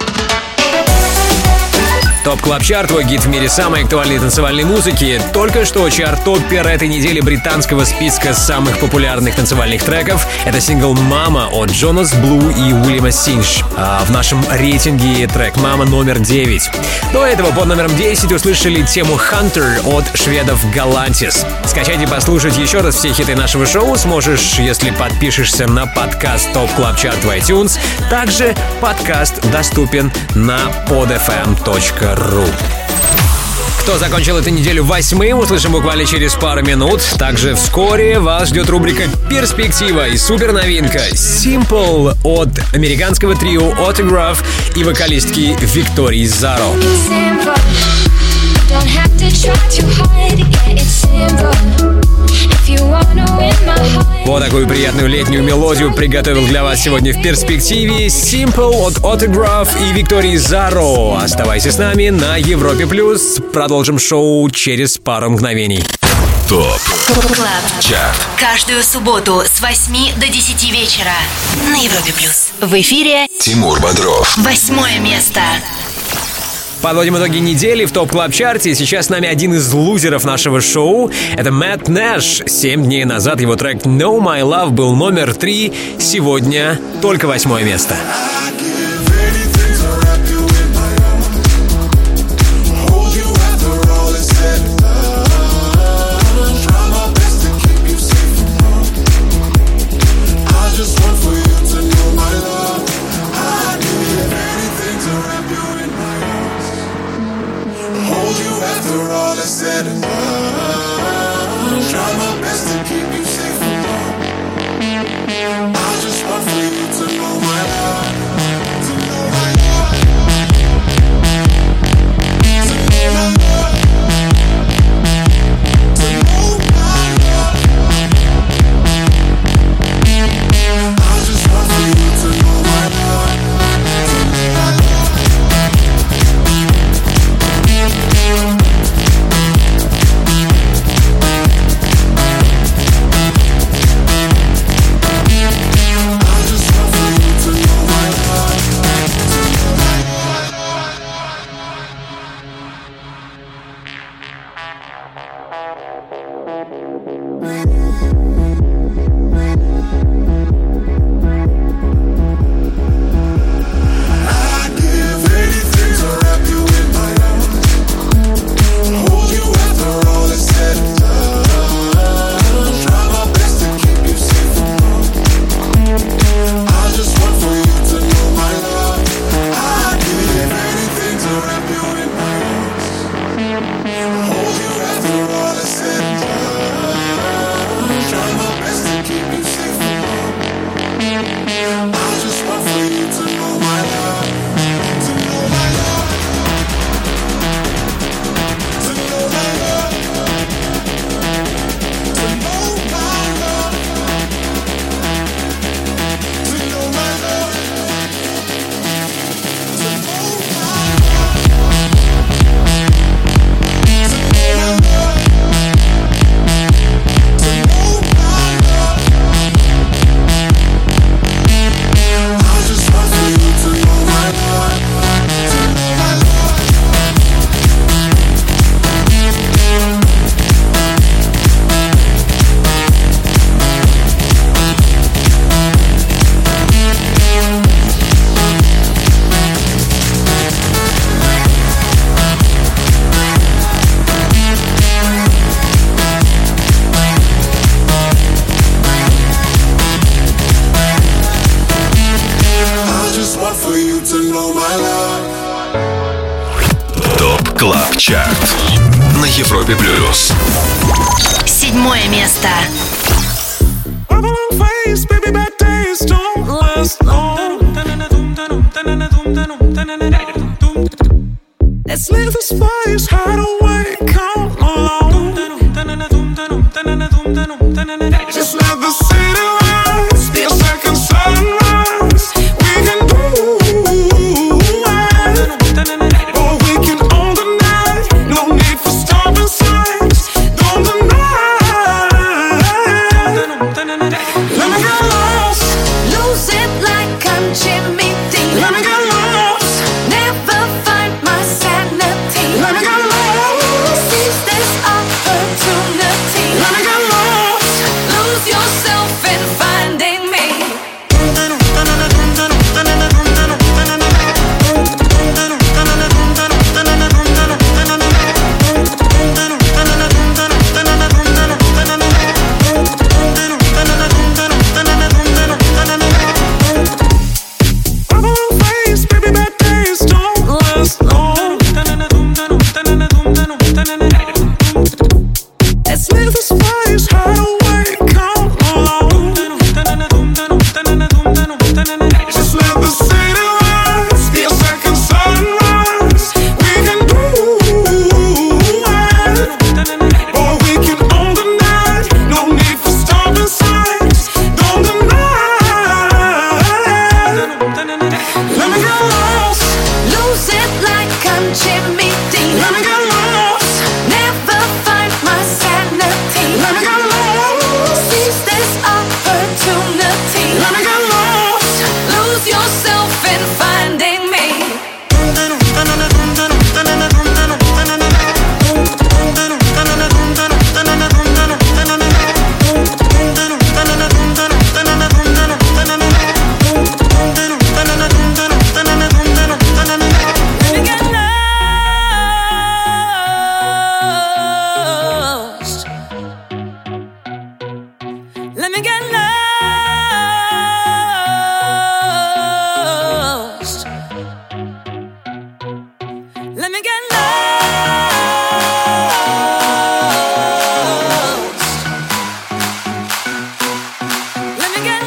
ТОП Клаб Чарт, твой гид в мире самой актуальной танцевальной музыки. Только что чарт топпер этой недели британского списка самых популярных танцевальных треков. Это сингл «Мама» от Джонас Блу и Уильяма Синч. В нашем рейтинге трек «Мама» номер 9. До этого под номером 10 услышали тему «Hunter» от шведов Galantis. Скачать и послушать еще раз все хиты нашего шоу сможешь, если подпишешься на подкаст ТОП Клаб Чарт в iTunes. Также подкаст доступен на podfm.ru. Кто закончил эту неделю 8-м, услышим буквально через пару минут. Также вскоре вас ждет рубрика «Перспектива» и суперновинка «Simple» от американского трио Autograph и вокалистки Виктории Заро. Вот такую приятную летнюю мелодию приготовил для вас сегодня в перспективе Simple от Autograph и Виктории Заро. Оставайся с нами на Европе+. Продолжим шоу через пару мгновений. ТОП Клаб Чарт. Каждую субботу с 8 до 10 вечера на Европе+. В эфире Тимур Бодров. 8 место. Подводим итоги недели в ТОП Клаб Чарте. Сейчас с нами один из лузеров нашего шоу. Это Мэтт Нэш. 7 дней назад его трек «No My Love» был номер 3. Сегодня только 8 место. Said and done, try my best to keep you safe from harm. I just want for you to know my love, to know my love, to know my love, to know my love. I just want for you to know my love, to know my love. Клаб Чарт на Европе плюс. 7 место. Let's leave the space, hide away, come along. Just let the city rise, be a second sunrise. We can do it, or we can own the night. No need for stopping signs. Don't deny. Let me get lost, Lose it like I'm Jimmy Dean. let me get lost, Never find my sanity. let me get lost, Seize this opportunity. let me get lost. Lose yourself in finding me. Bubble face, baby, bad days don't last long. Let's leave the space, hide away, come along. Just let the city rise, be a second sunrise. We can do it, or we can own the night. No need for stopping signs. Don't deny. Let me get lost, Lose it like I'm Jimmy Dean. let me get lost, Never find my sanity. let me get lost, Seize this opportunity. let me get lost. Lose yourself in finding me. Let me get lost. Let me get lost. Let me get lost. Let me get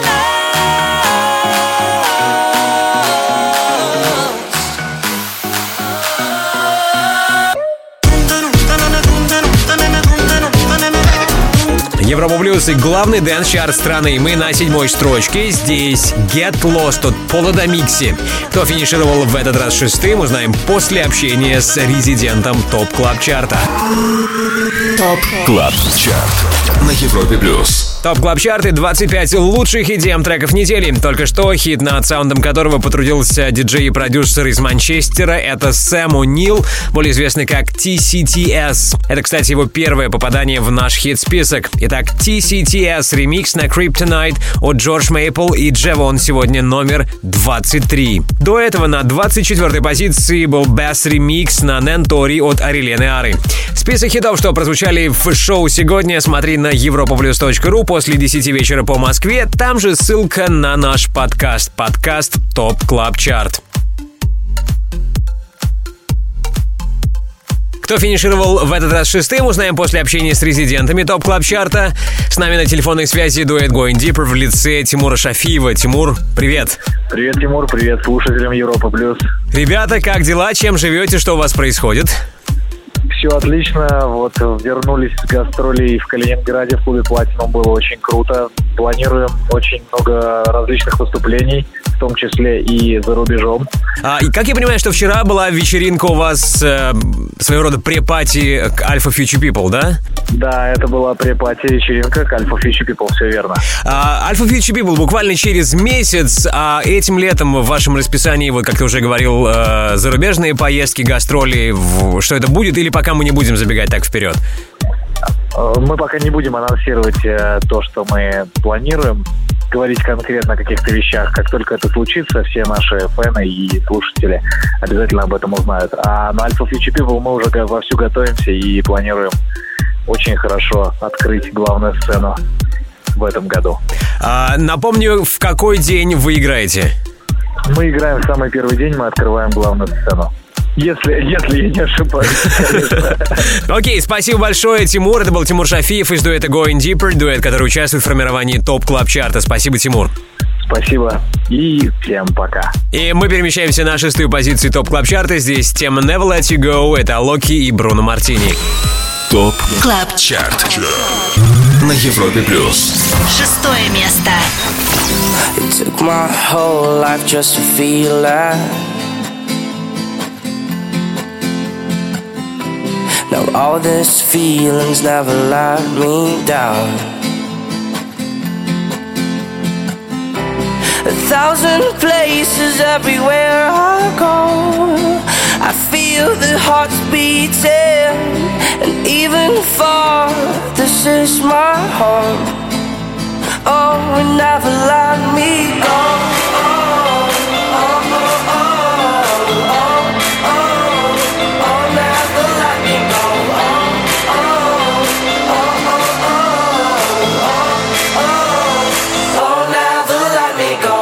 Европа Плюс и главный дэнс-чарт страны. Мы на 7-й строчке. Здесь Get Lost от Пола Дамикси. Кто финишировал в этот раз 6-м, узнаем после общения с резидентом ТОП Клаб Чарта. ТОП Клаб Чарт на Европе Плюс. ТОП Клаб Чарты, 25 лучших EDM треков недели. Только что хит, над саундом которого потрудился диджей и продюсер из Манчестера. Это Сэм О'Нил, более известный как TCTS. Это, кстати, его первое попадание в наш хит-список. Итак, TCTS ремикс на Kryptonite от Джордж Мейпл и Джевон сегодня номер 23. До этого на 24-й позиции был Bass ремикс на Нентори от Арилены Ары. Список хитов, что прозвучали в шоу сегодня, смотри на europaplus.ru после 10 вечера по Москве. Там же ссылка на наш подкаст ТОП Клаб Чарт. Кто финишировал в этот раз 6-м, узнаем после общения с резидентами ТОП Клаб Чарта. С нами на телефонной связи дуэт Going Deeper в лице Тимура Шафиева. Тимур, привет. Привет, Тимур, привет слушателям Европа Плюс. Ребята, как дела? Чем живете? Что у вас происходит? Все отлично, вот вернулись с гастролей в Калининграде в клубе Platinum, было очень круто. Планируем очень много различных выступлений, в том числе и за рубежом. И как я понимаю, что вчера была вечеринка у вас, своего рода препати к Alpha Future People, да? Да, это была препати вечеринка к Alpha Future People, все верно. Alpha Future People буквально через месяц, а этим летом в вашем расписании, вот как ты уже говорил, зарубежные поездки, гастроли, что это будет, или пока мы не будем забегать так вперед? Мы пока не будем анонсировать то, что мы планируем, говорить конкретно о каких-то вещах. Как только это случится, все наши фэны и слушатели обязательно об этом узнают. А на Alpha Future People мы уже вовсю готовимся и планируем очень хорошо открыть главную сцену в этом году. Напомню, в какой день вы играете? Мы играем в самый первый день, мы открываем главную сцену. Если я не ошибаюсь, конечно. Окей, спасибо большое, Тимур. Это был Тимур Шафиев из дуэта Going Deeper, дуэт, который участвует в формировании ТОП Клаб Чарта. Спасибо, Тимур. Спасибо и всем пока. И мы перемещаемся на 6-ю позицию ТОП Клаб Чарта. Здесь тема Never Let You Go. Это Локи и Бруно Мартини. ТОП Клаб Чарт на Европе плюс. 6-е место. It took my whole life just to feel that. Now all these feelings never let me down. 1,000 places everywhere I go, I feel the hearts beating, and even far, this is my home. Oh, and never let me go. Oh, oh, oh, oh, oh, oh, oh, never let me go. Oh, oh, oh, oh, oh, oh, oh, never let me go.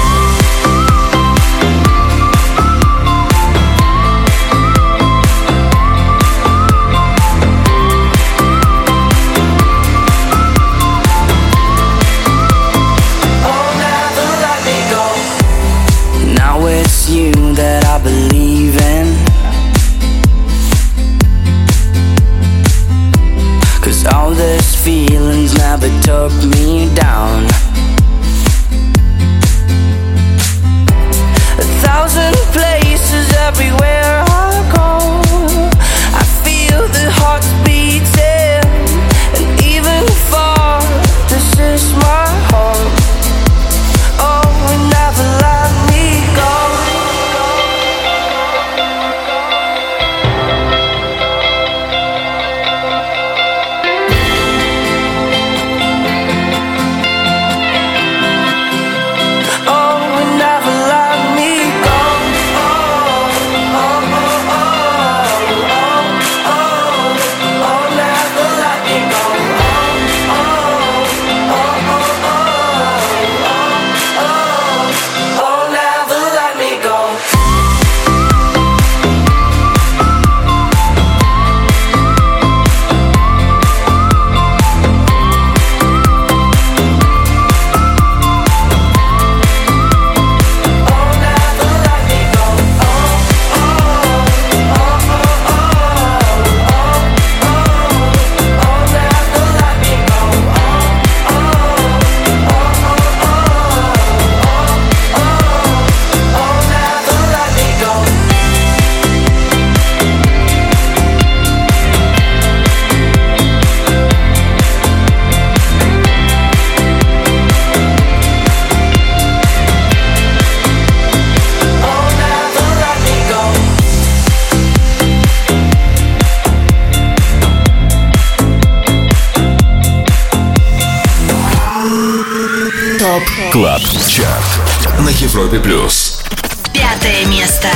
You that I believe in, 'cause all these feelings never took me down. 1,000 places everywhere I go, I feel the hearts beating, and even far, this is my home. Oh, and never let me go. Клаб Чарт на Европе плюс. 5-е место.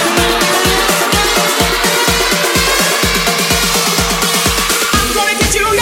Gonna get you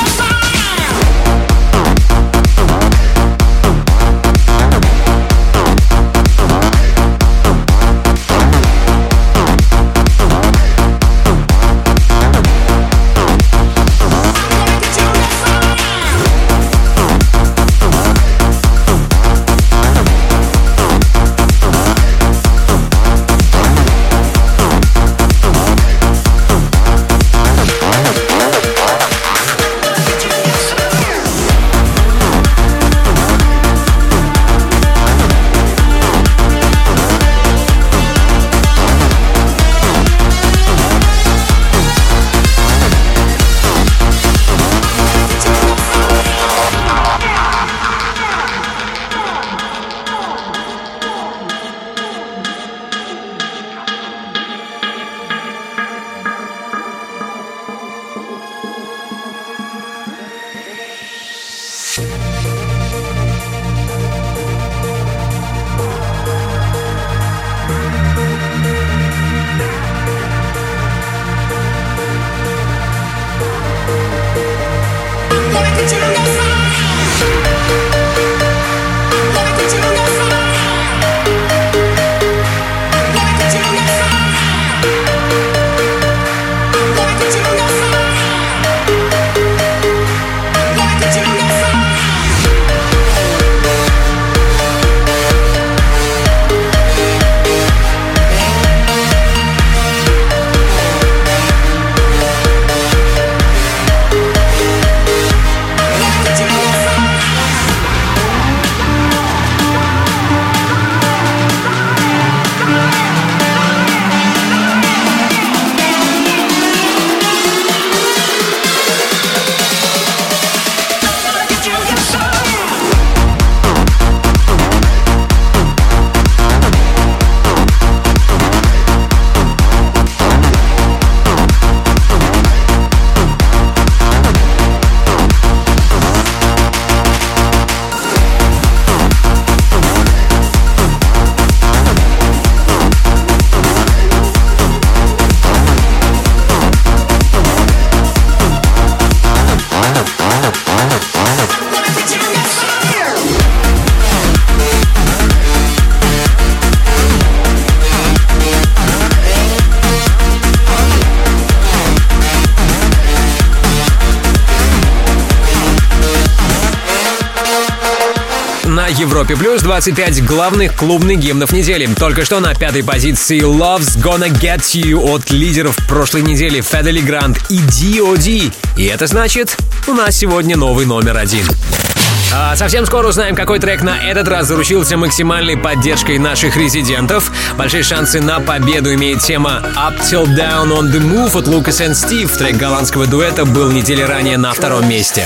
Европе Плюс 25 главных клубных гимнов недели. Только что на пятой позиции Love's Gonna Get You от лидеров прошлой недели Федели Грант и D.O.D. И это значит, у нас сегодня новый номер один. А совсем скоро узнаем, какой трек на этот раз заручился максимальной поддержкой наших резидентов. Большие шансы на победу имеет тема Up Till Down on the Move от Lucas and Steve. Трек голландского дуэта был недели ранее на втором месте.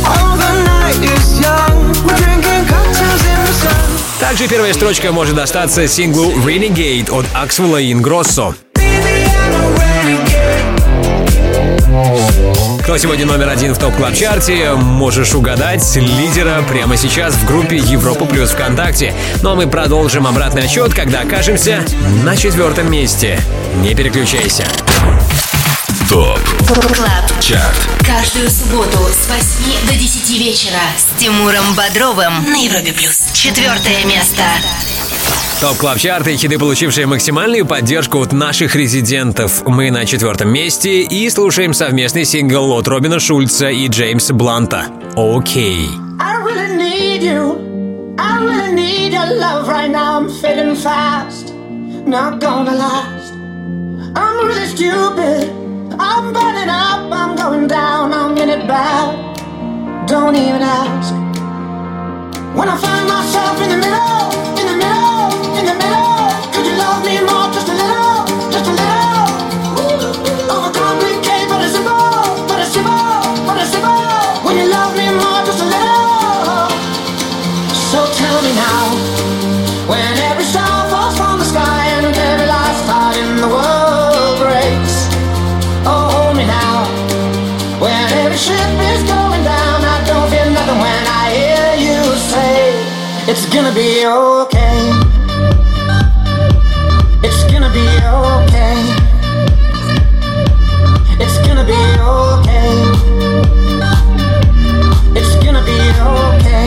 Также первая строчка может достаться синглу Renegade от Axwell и Ingrosso. Кто сегодня номер один в ТОП Клаб Чарте, можешь угадать лидера прямо сейчас в группе Европа Плюс ВКонтакте. Ну а мы продолжим обратный отсчет, когда окажемся на 4-м месте. Не переключайся. ТОП Клаб Чарт. Каждую субботу с 8 до 10 вечера с Тимуром Бодровым на Европе Плюс. 4-е место. ТОП Клаб Чарты и хиты, получившие максимальную поддержку от наших резидентов. Мы на 4-м месте и слушаем совместный сингл от Робина Шульца и Джеймса Бланта «Окей». I really need you. I really need your love right now. I'm fading fast. Not gonna last. I'm really stupid. I'm burning up. I'm going down. I'm in it bad. Don't even ask. When I find myself in the middle, in the middle, in the middle, could you love me more, just a little, just a little? Overcomplicate, but it's simple, but it's simple, but it's simple. When you love me more, just a little. So tell me now, when every star falls from the sky and every last heart in the world breaks. Oh, hold me now, when every ship is going down, I don't feel nothing when I hear you say it's gonna be okay. It's gonna be okay. It's gonna be okay. It's gonna be okay.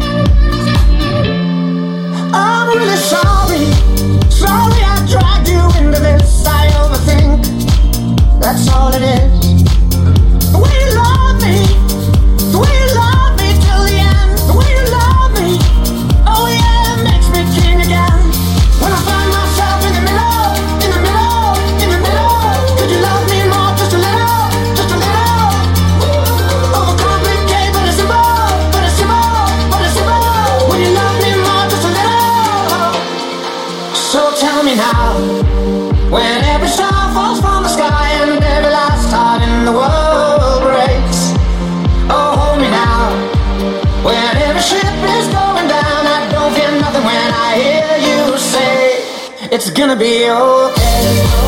I'm really sorry. Sorry I dragged you into this. I overthink. That's all it is. The way you love me. The way you love me till the end. The way you love me. Oh yeah, it makes me king again. When I find myself in the middle, in the middle, in the middle. Could you love me more, just a little, just a little? Overcomplicate, but it's simple, but it's simple, but it's simple. When you love me more, just a little. So tell me now, when every star falls from the sky and every last heart in the world breaks. Oh, hold me now, when every ship is going down, I don't feel nothing when I hear you say it's gonna be okay.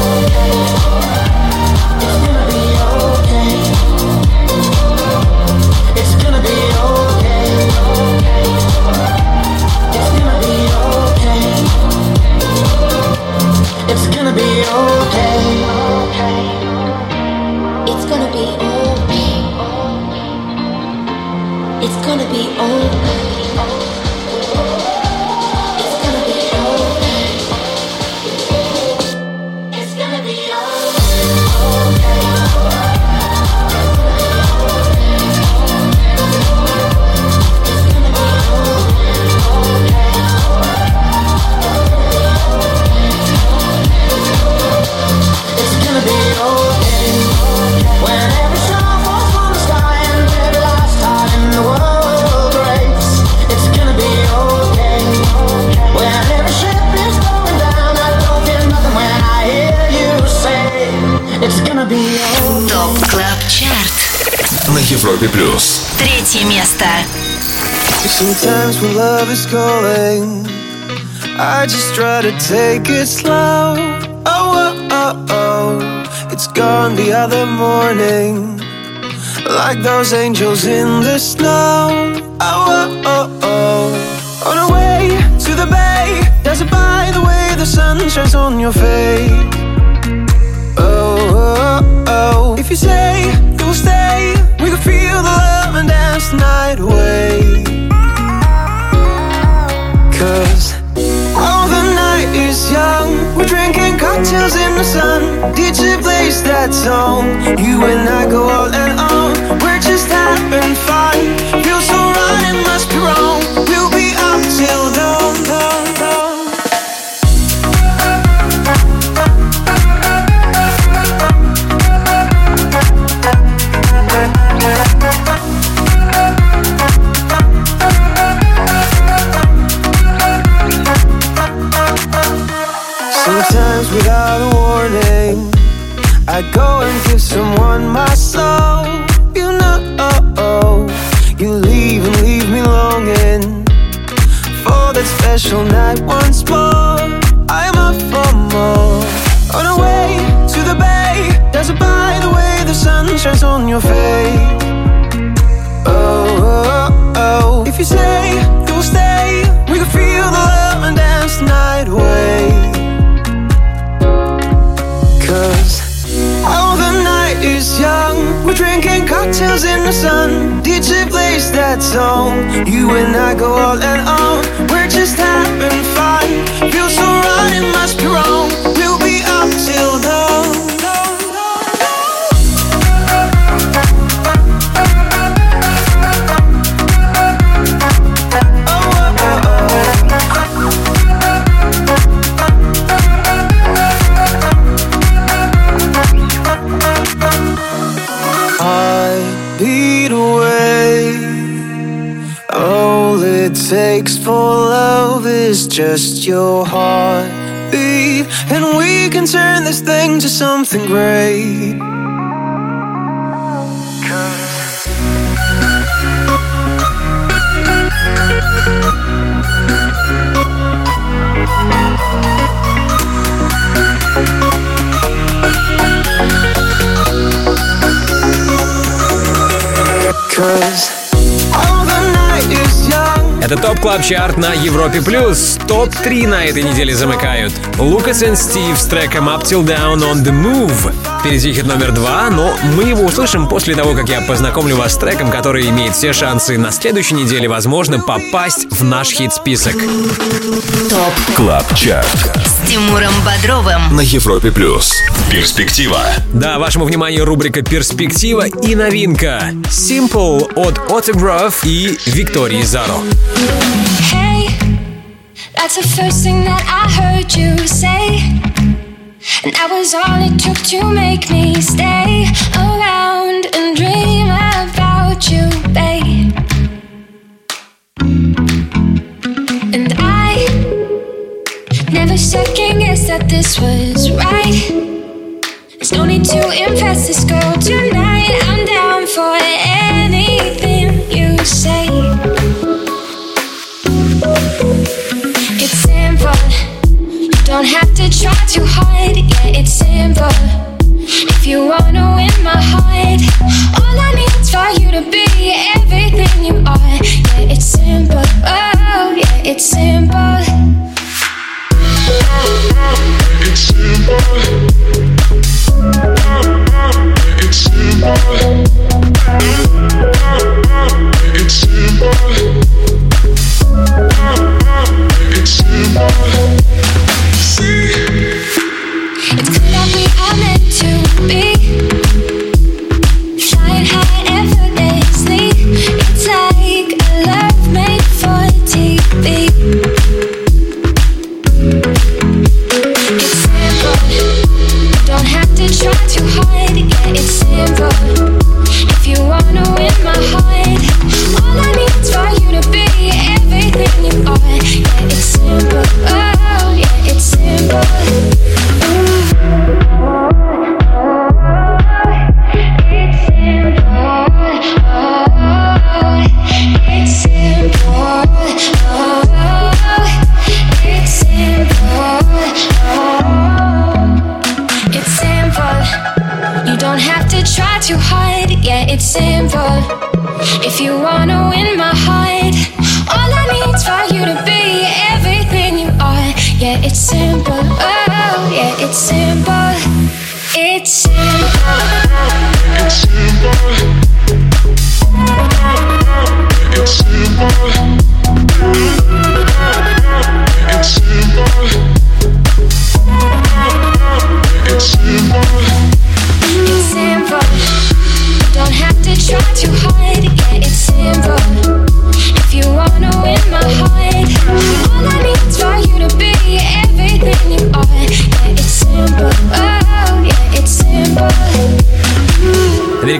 It's gonna be okay. It's gonna be okay. It's gonna be okay. It's gonna be okay. It's gonna be okay. It's gonna be okay. It's gonna be okay. It's gonna be ТОП Клаб Чарт на Европе плюс. 3 место. Sometimes when love is calling, I just try to take it slow. Oh, oh, oh, oh. It's gone the other morning, like those angels in the snow. Oh, oh, oh, oh. On our way to the bay, dazzled by the way the sun shines on your face. Oh, oh, oh. If you say you will stay, we can feel the love and dance the night away. 'Cause oh, the night is young, we're drinking cocktails in the sun. DJ plays that song, you and I go all and on. We're just having fun, feels so right, it must be wrong. We'll be up till dawn, dawn, dawn. Sometimes without a warning, I go and give someone my soul. You know, you leave and leave me longing for that special night once more. I'm up for more. On our way to the bay, dazzled by the way the sun shines on your face. Oh, oh, oh. If you say you will stay, we can feel the love and dance the night away. 'Cause oh, the night is young, we're drinking cocktails in the sun. DJ plays that song, you and I go all and on. We're just having fun, feels so right, it must be wrong. We'll be up till dawn. Beat away. All it takes for love is just your heartbeat, and we can turn this thing to something great. 'Cause all the night is young. Это ТОП Клаб Чарт на Европе Плюс. ТОП-3 на этой неделе замыкают Лукас и Стив с треком Up Till Down on the Move. Впереди хит номер 2, но мы его услышим после того, как я познакомлю вас с треком, который имеет все шансы на следующей неделе, возможно, попасть в наш хит-список. ТОП Клаб Чарт с Тимуром Бодровым на Европе Плюс. Перспектива. Да, вашему вниманию рубрика «Перспектива» и новинка Simple от Autograph и Виктории Заро. Hey, that's the first thing that I heard you say, and that was all it took to make me stay around and dream about you, babe. And I never second-guessed that this was right. There's no need to impress this girl tonight. I'm down for anything you say. It's simple, you don't have to try too hard. Yeah, it's simple, if you wanna win my heart. All I need is for you to be everything you are. Yeah, it's simple, oh yeah, it's simple. It's simple.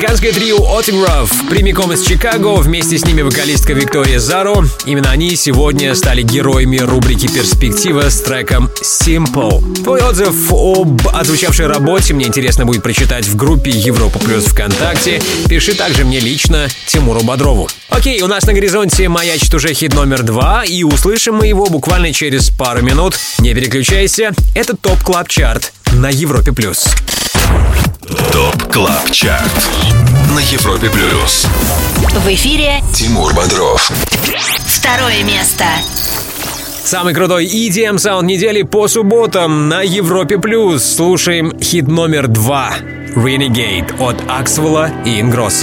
Американское трио Autograph прямиком из Чикаго, вместе с ними вокалистка Виктория Заро. Именно они сегодня стали героями рубрики «Перспектива» с треком Simple. Твой отзыв об отзвучавшей работе мне интересно будет прочитать в группе Европа Плюс ВКонтакте. Пиши также мне лично, Тимуру Бодрову. Окей, у нас на горизонте маячит уже хит номер 2, и услышим мы его буквально через пару минут. Не переключайся, это ТОП Клаб Чарт на Европе Плюс. ТОП Клаб Чарт на Европе Плюс. В эфире Тимур Бодров. второе место. Самый крутой EDM саунд недели по субботам на Европе Плюс. Слушаем хит номер 2 Renegade от Аксвелла и Ингросса.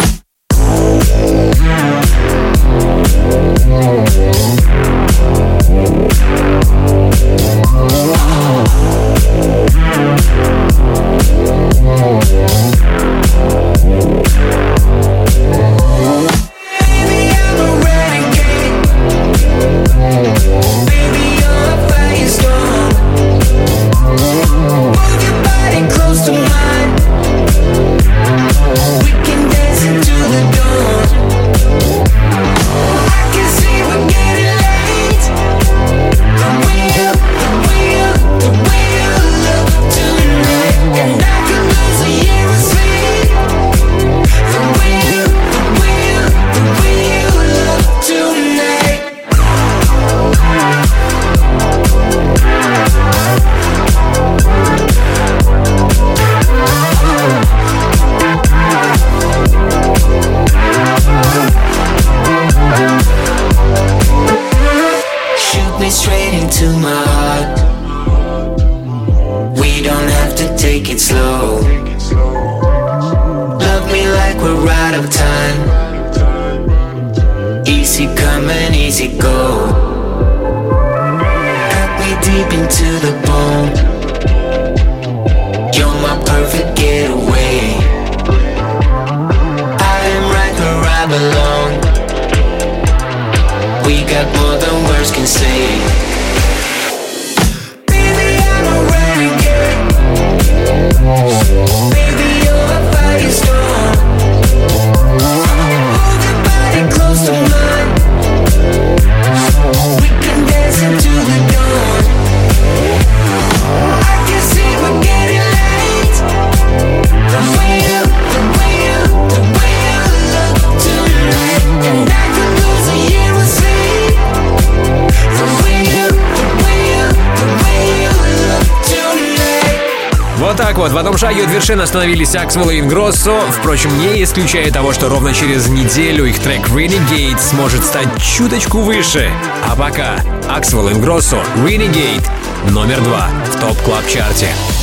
В одном шаге от вершины остановились Аксвелл и Ингроссо. Впрочем, не исключая того, что ровно через неделю их трек Renegade сможет стать чуточку выше. А пока Аксвелл и Ингроссо Renegade номер 2 в ТОП Клаб Чарте.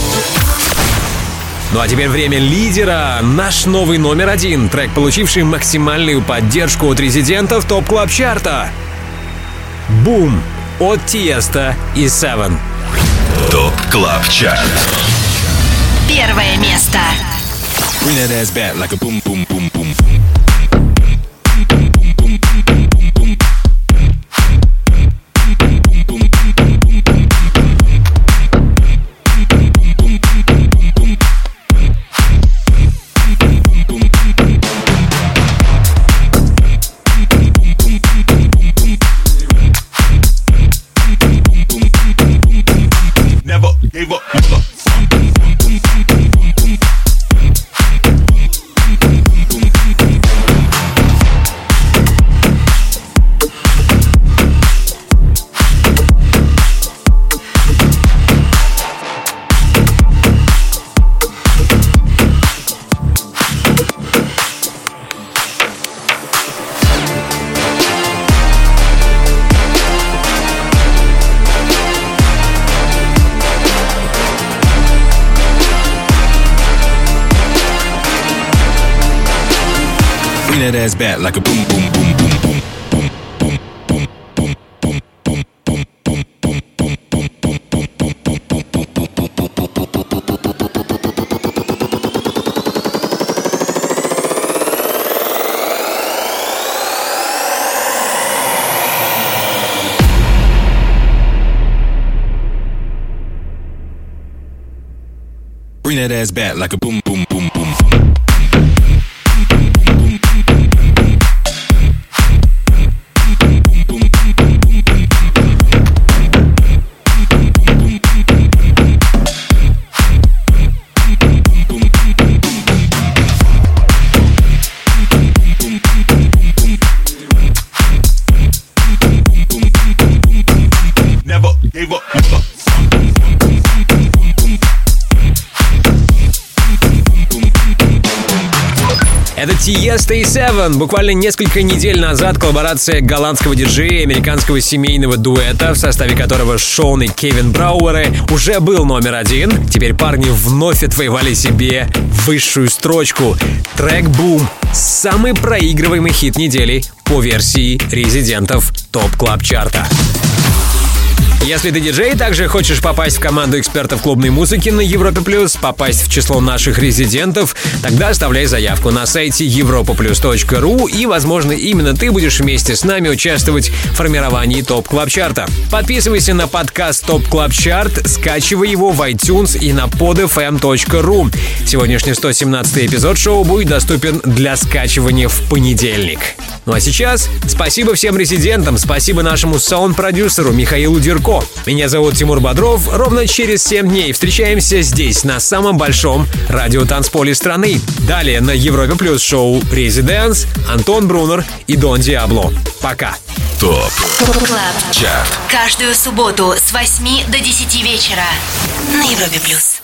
Ну а теперь время лидера. Наш новый номер 1. Трек, получивший максимальную поддержку от резидентов ТОП Клаб Чарта. Boom от Тиеста и Seven. ТОП Клаб Чарт. Первое место. Bring that ass back like a boom, boom, boom, boom. Never gave up. That ass back like a boom, boom, boom, boom, boom. Bring that ass back like a boom, boom, boom, boom. Tiësto и Seven. Буквально несколько недель назад коллаборация голландского диджея и американского семейного дуэта, в составе которого Шон и Кевин Брауэры, уже был номер один. Теперь парни вновь отвоевали себе высшую строчку. Трек «Boom» — самый проигрываемый хит недели по версии резидентов ТОП Клаб Чарта. Если ты диджей и также хочешь попасть в команду экспертов клубной музыки на Европе Плюс, попасть в число наших резидентов, тогда оставляй заявку на сайте europaplus.ru, и, возможно, именно ты будешь вместе с нами участвовать в формировании ТОП Клаб Чарта. Подписывайся на подкаст ТОП Клаб Чарт, скачивай его в iTunes и на podfm.ru. Сегодняшний 117-й эпизод шоу будет доступен для скачивания в понедельник. Ну а сейчас спасибо всем резидентам, спасибо нашему саунд-продюсеру Михаилу Дерко. Меня зовут Тимур Бодров. Ровно через 7 дней встречаемся здесь, на самом большом радиотанцполе страны. Далее на Европе Плюс шоу «Резиденс», Антон Брунер и Дон Диабло. Пока. ТОП Клаб Чарт. Каждую субботу с 8 до 10 вечера на Европе Плюс.